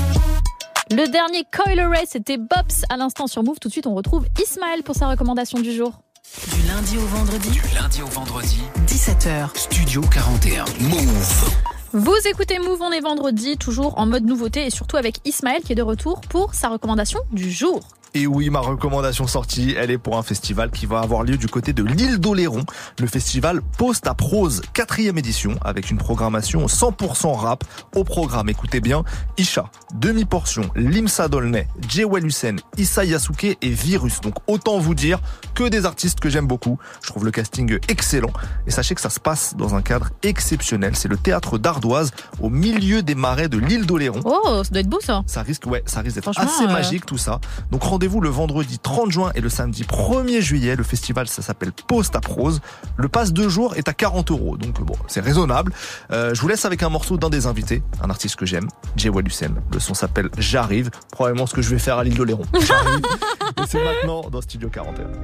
Le dernier Coil Ray, c'était Bops à l'instant sur Move. Tout de suite, on retrouve Ismaël pour sa recommandation du jour. Du lundi au vendredi. Du lundi au vendredi. dix-sept heures. Studio quarante et un. Move. Vous écoutez Move, on est vendredi, toujours en mode nouveauté et surtout avec Ismaël qui est de retour pour sa recommandation du jour. Et oui, ma recommandation sortie, elle est pour un festival qui va avoir lieu du côté de l'île d'Oléron. Le festival Post à Prose, quatrième édition, avec une programmation cent pour cent rap. Au programme, écoutez bien, Isha, Demi-Portion, Limsa Dolnay, Jewel Hussein, Issa Yasuke et Virus. Donc autant vous dire que des artistes que j'aime beaucoup. Je trouve le casting excellent. Et sachez que ça se passe dans un cadre exceptionnel. C'est le théâtre d'Ardoise, au milieu des marais de l'île d'Oléron. Oh, ça doit être beau ça. Ça risque, ouais, ça risque d'être Franchement, assez euh... magique tout ça. Donc rendez-vous le vendredi trente juin et le samedi premier juillet. Le festival, ça s'appelle Post à Prose. Le pass deux jours est à quarante euros. Donc bon, c'est raisonnable. Euh, je vous laisse avec un morceau d'un des invités, un artiste que j'aime, Jewel Hussein. Le son s'appelle J'arrive. Probablement ce que je vais faire à l'île d'Oléron. J'arrive. Et c'est maintenant dans Studio quarante et un.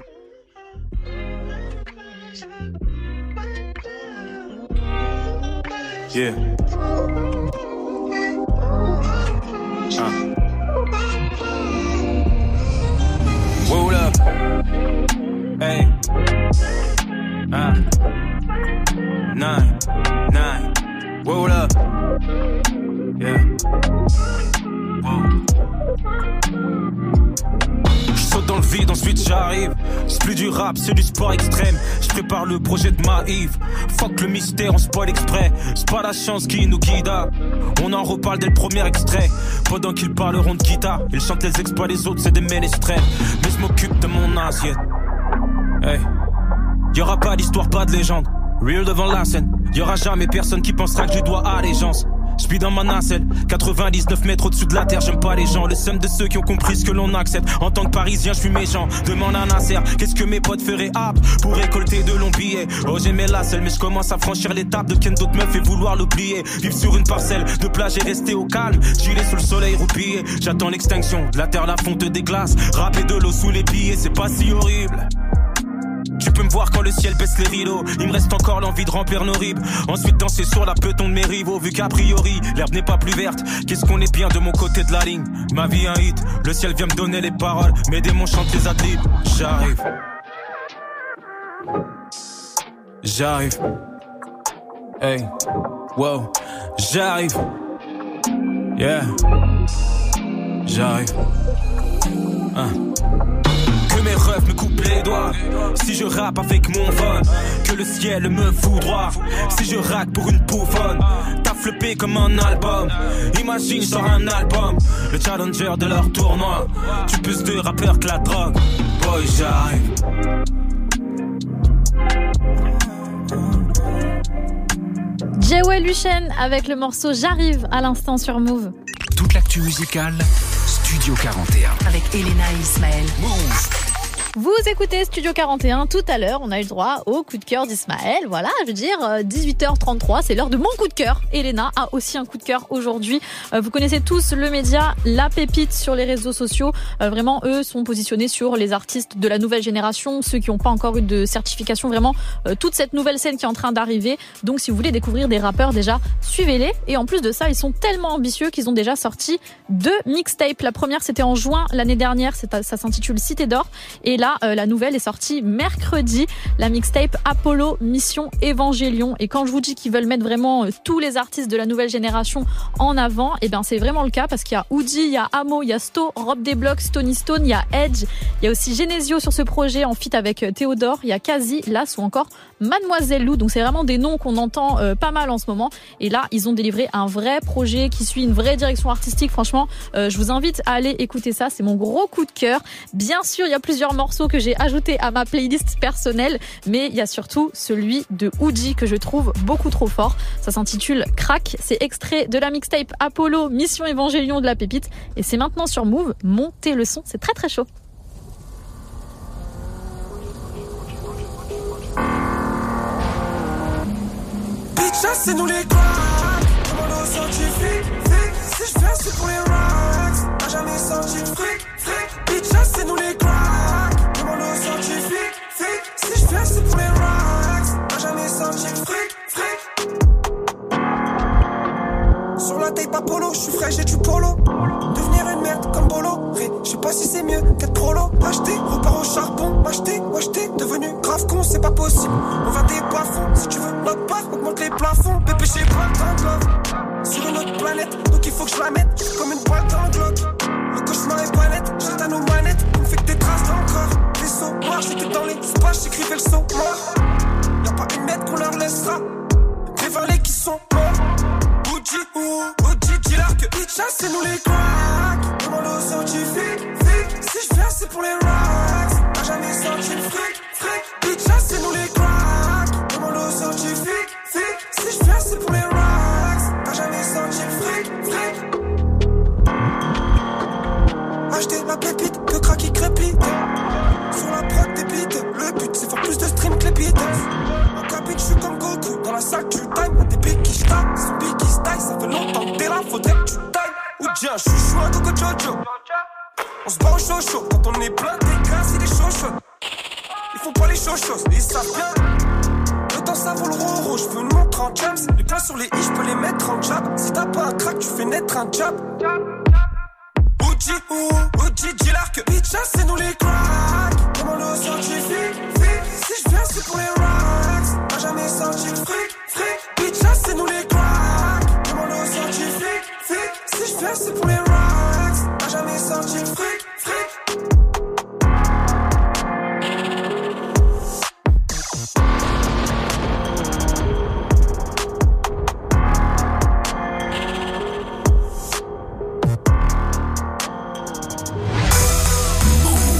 Yeah. Uh. Roll up. Hey. Uh. Nine. Nine. Roll up. Yeah. Whoa. Je saute dans le vide, ensuite j'arrive. C'est plus du rap, c'est du sport extrême. Je prépare le projet de Maïve. Fuck le mystère, on spoil exprès. C'est pas la chance qui nous guida. On en reparle dès le premier extrait. Pendant qu'ils parleront de guitare, ils chantent les exploits, les autres c'est des ménestrels. Mais je m'occupe de mon assiette. Hey. Y'aura pas d'histoire, pas de légende. Real devant la scène. Y'aura jamais personne qui pensera que je dois allégeance. J'suis dans ma nacelle, quatre-vingt-dix-neuf mètres au-dessus de la terre, j'aime pas les gens. Le seum de ceux qui ont compris ce que l'on accepte. En tant que parisien, j'fuis méchant. Demande à Nasser, qu'est-ce que mes potes feraient ap pour récolter de longs billets. Oh j'aimais la selle, mais j'commence à franchir l'étape de ken d'autres meufs et vouloir l'oublier. Vivre sur une parcelle de plage et rester au calme. Gilet sous le soleil roupillé. J'attends l'extinction, de la terre la fonte des glaces. Râper de l'eau sous les billets, c'est pas si horrible. Tu peux me voir quand le ciel baisse les rideaux. Il me reste encore l'envie de remplir nos ribes. Ensuite danser sur la peloton de mes rivaux. Vu qu'a priori l'herbe n'est pas plus verte. Qu'est-ce qu'on est bien de mon côté de la ligne. Ma vie un hit, le ciel vient me donner les paroles. Mes démons chantent les adlibs. J'arrive. J'arrive. Hey, wow. J'arrive. Yeah. J'arrive. Hein. Que mes rêves me coupent les doigts. Si je rappe avec mon phone, que le ciel me foudroie. Si je rappe pour une bouffonne, t'as flippé comme un album. Imagine, je sors un album, le challenger de leur tournoi. Tu plus de rappeurs que la drogue. Boy, j'arrive. Jewel Hussein avec le morceau J'arrive à l'instant sur Move. Toute l'actu musicale, Studio quarante et un. Avec Elena et Ismaël. Move. Vous écoutez Studio quarante et un. Tout à l'heure, on a eu le droit au coup de cœur d'Ismaël. Voilà, je veux dire, dix-huit heures trente-trois, c'est l'heure de mon coup de cœur. Elena a aussi un coup de cœur aujourd'hui. Vous connaissez tous le média La Pépite sur les réseaux sociaux. Vraiment, eux sont positionnés sur les artistes de la nouvelle génération, ceux qui n'ont pas encore eu de certification. Vraiment, toute cette nouvelle scène qui est en train d'arriver. Donc, si vous voulez découvrir des rappeurs, déjà, suivez-les. Et en plus de ça, ils sont tellement ambitieux qu'ils ont déjà sorti deux mixtapes. La première, c'était en juin l'année dernière. Ça s'intitule Cité d'Or. Et là, euh, la nouvelle est sortie mercredi, la mixtape Apollo Mission Évangélion. Et quand je vous dis qu'ils veulent mettre vraiment euh, tous les artistes de la nouvelle génération en avant, et ben c'est vraiment le cas parce qu'il y a Oudi, il y a Amo, il y a Sto, Rob Desblocs, Stony Stone, il y a Edge, il y a aussi Genesio sur ce projet en feat avec euh, Théodore, il y a Kazi, Las ou encore Mademoiselle Lou. Donc c'est vraiment des noms qu'on entend euh, pas mal en ce moment. Et là, ils ont délivré un vrai projet qui suit une vraie direction artistique. Franchement, euh, je vous invite à aller écouter ça. C'est mon gros coup de cœur. Bien sûr, il y a plusieurs morceaux que j'ai ajoutés à ma playlist personnelle, mais il y a surtout celui de Oudi que je trouve beaucoup trop fort. Ça s'intitule Crack. C'est extrait de la mixtape Apollo Mission Évangélion de La Pépite. Et c'est maintenant sur Move. Montez le son. C'est très très chaud. Bitch, c'est nous les cracks. Commando scientifique, fric. Si je viens, c'est pour les racks. T'as jamais senti le fric, fric. Bitch, c'est nous les cracks. Commando scientifique, fric. Si je viens, c'est pour les racks. T'as jamais senti le fric, fric. Sur la tape Apollo, je suis frais, j'ai du polo. Devenir une merde comme Bolo. Je sais pas si c'est mieux qu'être prolo. Acheter, repart au charbon. Acheter ou acheter, devenu grave con, c'est pas possible. On va des plafonds, si tu veux notre part, augmente les plafonds. Bébé, j'ai pas le temps de love. Sur une autre planète, donc il faut que je la mette. Je suis comme une balle dans le globe. Le cauchemar est pas net, j'éteins nos manettes. On me fait que des traces dans le corps. Les sauts noirs, j'étais dans l'espace, j'écrivais le son mort. Y'a pas une mètre qu'on leur laissera. Des valets qui sont morts. Oudi, ou Oudi, dis-leur que Itcha, c'est nous les cracks. Commando scientifique, fric. Si je viens, c'est pour les racks. T'as jamais senti le fric, fric. Itcha, c'est nous les cracks. Commando scientifique, fric. Si je viens, c'est pour les racks. T'as jamais senti le fric, fric. Acheter la pépite, que crack qui crépite. Sur la prod des beats, le but c'est faire plus de stream que les beats. En cabine, je suis comme Goku. Dans la salle, tu time, y'a des pics qui stack. Son pic qui stack, ça fait longtemps que t'es là, faudrait que tu tailles. Ou tiens, je suis chaud à Coco Jojo. On se bat au chaud chaud, quand on est plein, t'es casse, il est chaud chaud. Ils font pas les choses choses, ils savent bien. Le temps ça vaut le roro, je veux une montre en jams. Les plats sur les i, je peux les mettre en jab. Si t'as pas un crack, tu fais naître un jab. Oudi, ou Oudi, dis-leur que Itcha, c'est nous les cracks. Commando scientifique, fric. Si je viens, c'est pour les racks. T'as jamais senti le fric, fric. Itcha, c'est nous les cracks. Commando scientifique, fric. Si je viens, c'est pour les racks. T'as jamais senti le fric, fric. Move.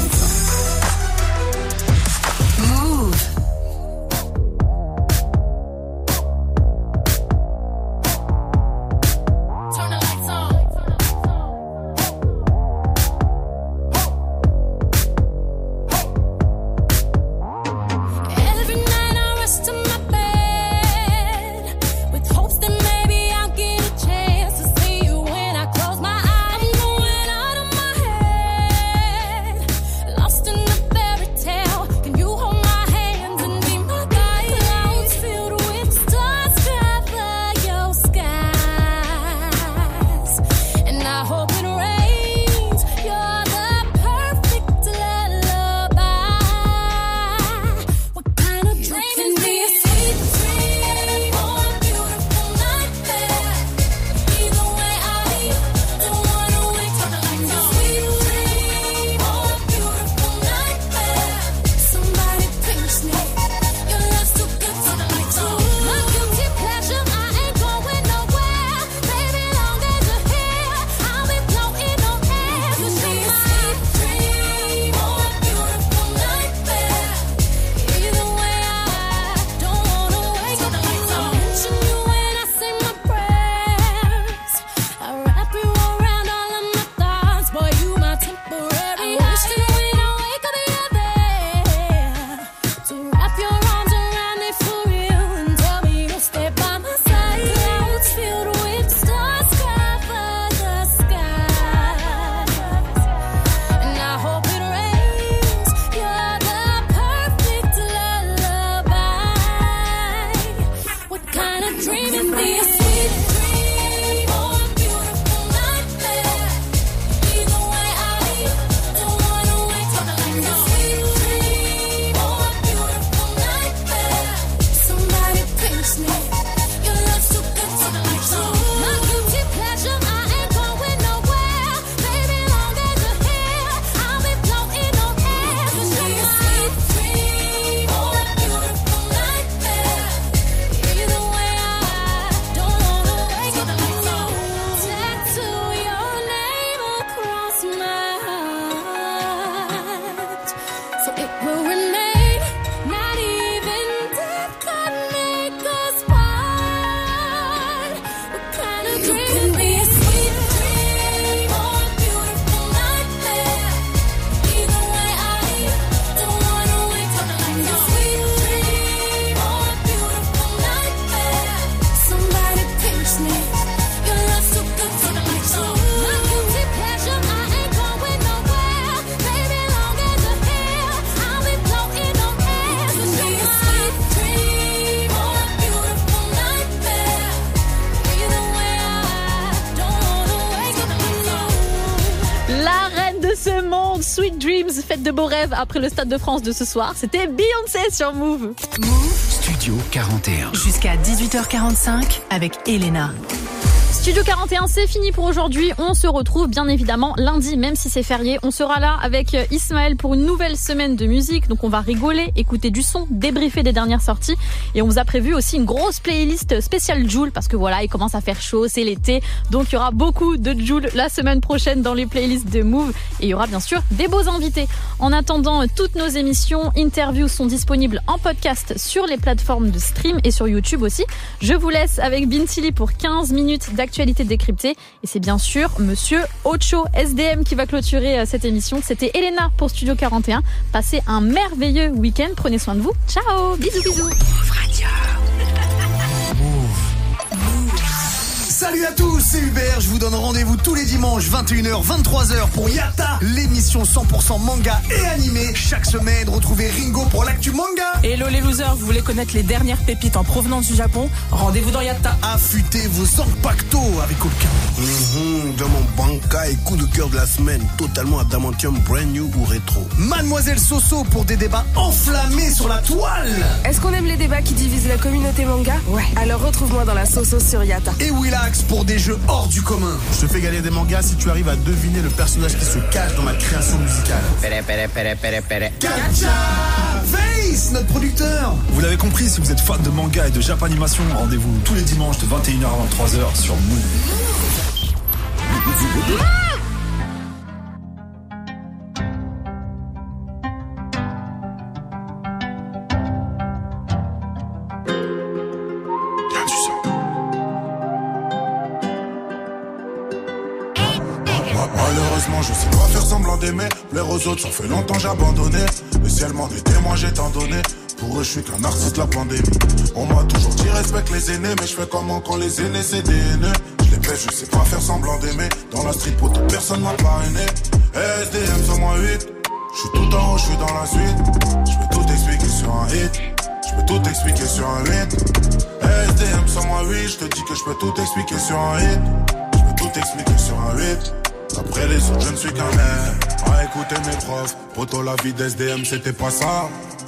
ce monde. Sweet Dreams, faites de beaux rêves après le Stade de France de ce soir. C'était Beyoncé sur Move. Move Studio quarante et un. jusqu'à dix-huit heures quarante-cinq avec Elena. Studio quarante et un, c'est fini pour aujourd'hui. On se retrouve bien évidemment lundi, même si c'est férié. On sera là avec Ismaël pour une nouvelle semaine de musique. Donc on va rigoler, écouter du son, débriefer des dernières sorties. Et on vous a prévu aussi une grosse playlist spéciale Jul, parce que voilà, il commence à faire chaud, c'est l'été. Donc il y aura beaucoup de Jul la semaine prochaine dans les playlists de Move. Et il y aura bien sûr des beaux invités. En attendant, toutes nos émissions, interviews sont disponibles en podcast sur les plateformes de stream et sur YouTube aussi. Je vous laisse avec Bintili pour quinze minutes d'actualité décryptée. Et c'est bien sûr Monsieur Ocho S D M qui va clôturer cette émission. C'était Elena pour Studio quarante et un. Passez un merveilleux week-end. Prenez soin de vous. Ciao. Bisous, bisous. Salut à tous, c'est Hubert, je vous donne rendez-vous tous les dimanches vingt et une heures vingt-trois heures pour Yatta, l'émission cent pour cent manga et animé. Chaque semaine, retrouvez Ringo pour l'actu manga. Hello les losers, vous voulez connaître les dernières pépites en provenance du Japon? Rendez-vous dans Yatta. Affûtez vos Zanpakuto avec Olka. Mmh, dans mon banca et coup de cœur de la semaine, totalement adamantium, brand new ou rétro. Mademoiselle Soso pour des débats enflammés sur la toile. Est-ce qu'on aime les débats qui divisent la communauté manga? Ouais. Alors retrouve-moi dans la Soso sur Yatta. Et Willax pour des jeux hors du commun. Je te fais gagner des mangas si tu arrives à deviner le personnage qui se cache dans ma création musicale. Pere, pere, pere, pere, pere. Gacha Face, notre producteur. Vous l'avez compris, si vous êtes fan de manga et de Japanimation, rendez-vous tous les dimanches de vingt et une heures à vingt-trois heures sur Move. Malheureusement, je sais pas faire semblant d'aimer. Plaire aux autres, ça fait longtemps j'ai abandonné. Le ciel m'en est témoin, j'ai tant donné. Pour eux, je suis qu'un artiste, la pandémie. On m'a toujours dit respecte les aînés, mais je fais comment quand les aînés c'est des haineux. Je les pèse, je sais pas faire semblant d'aimer. Dans la street, pour toute personne m'a parrainé. S D M cent huit, je suis tout en haut, je suis dans la suite. Je peux tout expliquer sur un hit. Je peux tout expliquer sur un hit. S D M cent huit, je te dis que je peux tout expliquer sur un hit. Je peux tout expliquer sur un hit. Après les autres, je ne suis qu'un air. À écouter mes profs, poto la vie d'S D M c'était pas ça.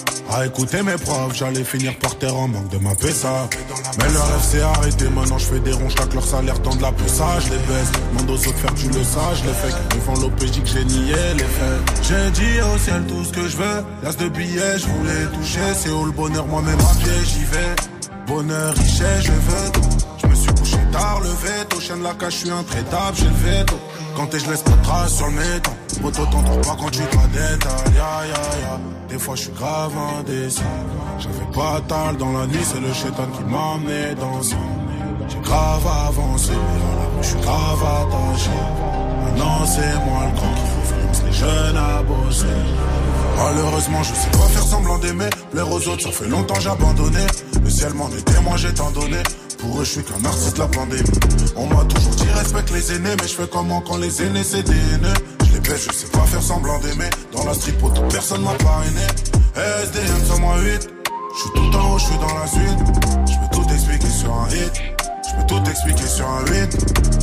À écouter mes profs, j'allais finir par terre en manque de ma pessa. Mais leur rêve s'est arrêté, maintenant je fais des ronds, chaque leur salaire tend de la poussage. Je les baisse, demande aux autres faire tu le sage. Les faits devant l'O P J que j'ai nié les faits. J'ai dit au ciel tout ce que je veux. L'as de billets, je voulais toucher. C'est où le bonheur, moi-même à pied, j'y vais. Bonheur, richesse, je veux tout. Je me suis couché tard, le veto. Chien de la cage, je suis intraitable, j'ai le veto. Quand t'es, je laisse pas de traces sur le métal. Poto, t'entends pas quand tu te la détales. Ya, ya, ya. Des fois, je suis grave indécis. J'avais pas tal dans la nuit, c'est le chétan qui m'a amené dans ça. J'ai grave avancé, je suis grave attaché. Maintenant, c'est moi le grand qui influence les jeunes à bosser. Malheureusement, je sais pas faire semblant d'aimer. Plaire aux autres, ça fait longtemps j'ai abandonné. Le ciel m'en est témoin, j'ai tant donné. Pour eux, je suis qu'un artiste, la pandémie. On m'a toujours dit respecte les aînés, mais je fais comment quand les aînés c'est des haineux. Je les baisse, je sais pas faire semblant d'aimer. Dans la street, pour toute personne m'a parrainé. S D M cent huit, je suis tout en haut, je suis dans la suite. Je peux tout expliquer sur un hit. Je peux tout expliquer sur un hit.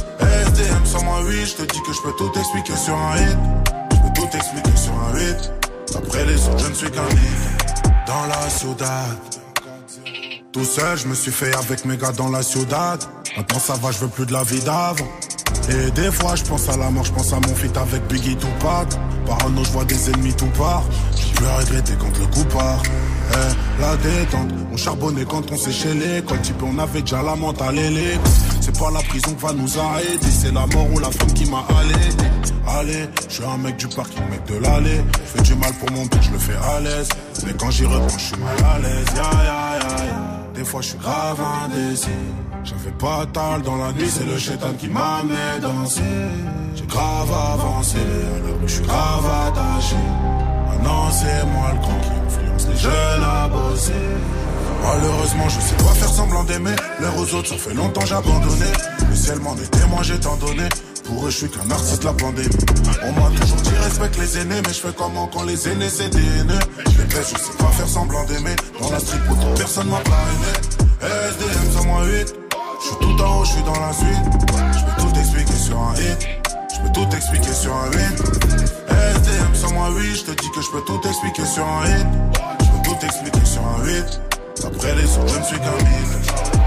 S D M cent huit, je te dis que je peux tout expliquer sur un hit. Je peux tout expliquer sur un hit. Après les autres, je ne suis qu'un hit. Dans la ciudad. Tout seul, je me suis fait avec mes gars dans la ciudad. Maintenant ça va, je veux plus de la vie d'avant. Et des fois, je pense à la mort, je pense à mon feat avec Biggie Tupac. Parano, je vois des ennemis tout part. J'ai plus à regretter quand le coup part. Eh, la détente, on charbonnait quand on séchait l'école. Type, on avait déjà la mentale et l'école. C'est pas la prison qui va nous arrêter, c'est la mort ou la femme qui m'a allaité. Allez, je suis un mec du parking, mec de l'allée. Je fais du mal pour mon but, je le fais à l'aise. Mais quand j'y reprends, je suis mal à l'aise. Ya, ya, ya, ya. Des fois, je suis grave indécis. J'avais pas tal dans la nuit, c'est le chétan qui m'a amené danser. J'ai grave avancé, alors je suis grave attaché. Maintenant, c'est moi le grand qui influence les jeunes à bosser. Malheureusement, je sais pas faire semblant d'aimer. L'air aux autres, ça fait longtemps j'ai abandonné. Le ciel m'en est témoin, j'ai tant donné. Pour eux, je suis qu'un artiste, la pandémie. On m'a toujours dit respecte les aînés, mais je fais comment quand les aînés c'est des haineux. Je les baisse, je sais pas faire semblant d'aimer. Dans la street, pour toute personne m'a parrainé. S D M cent huit, je suis tout en haut, je suis dans la suite. Je peux tout expliquer sur un hit. Je peux peux tout expliquer sur un huit. S D M sans moi oui, je te dis que je peux tout expliquer sur un hit. Je peux tout expliquer sur un huit. Après les autres, je ne suis qu'un mille.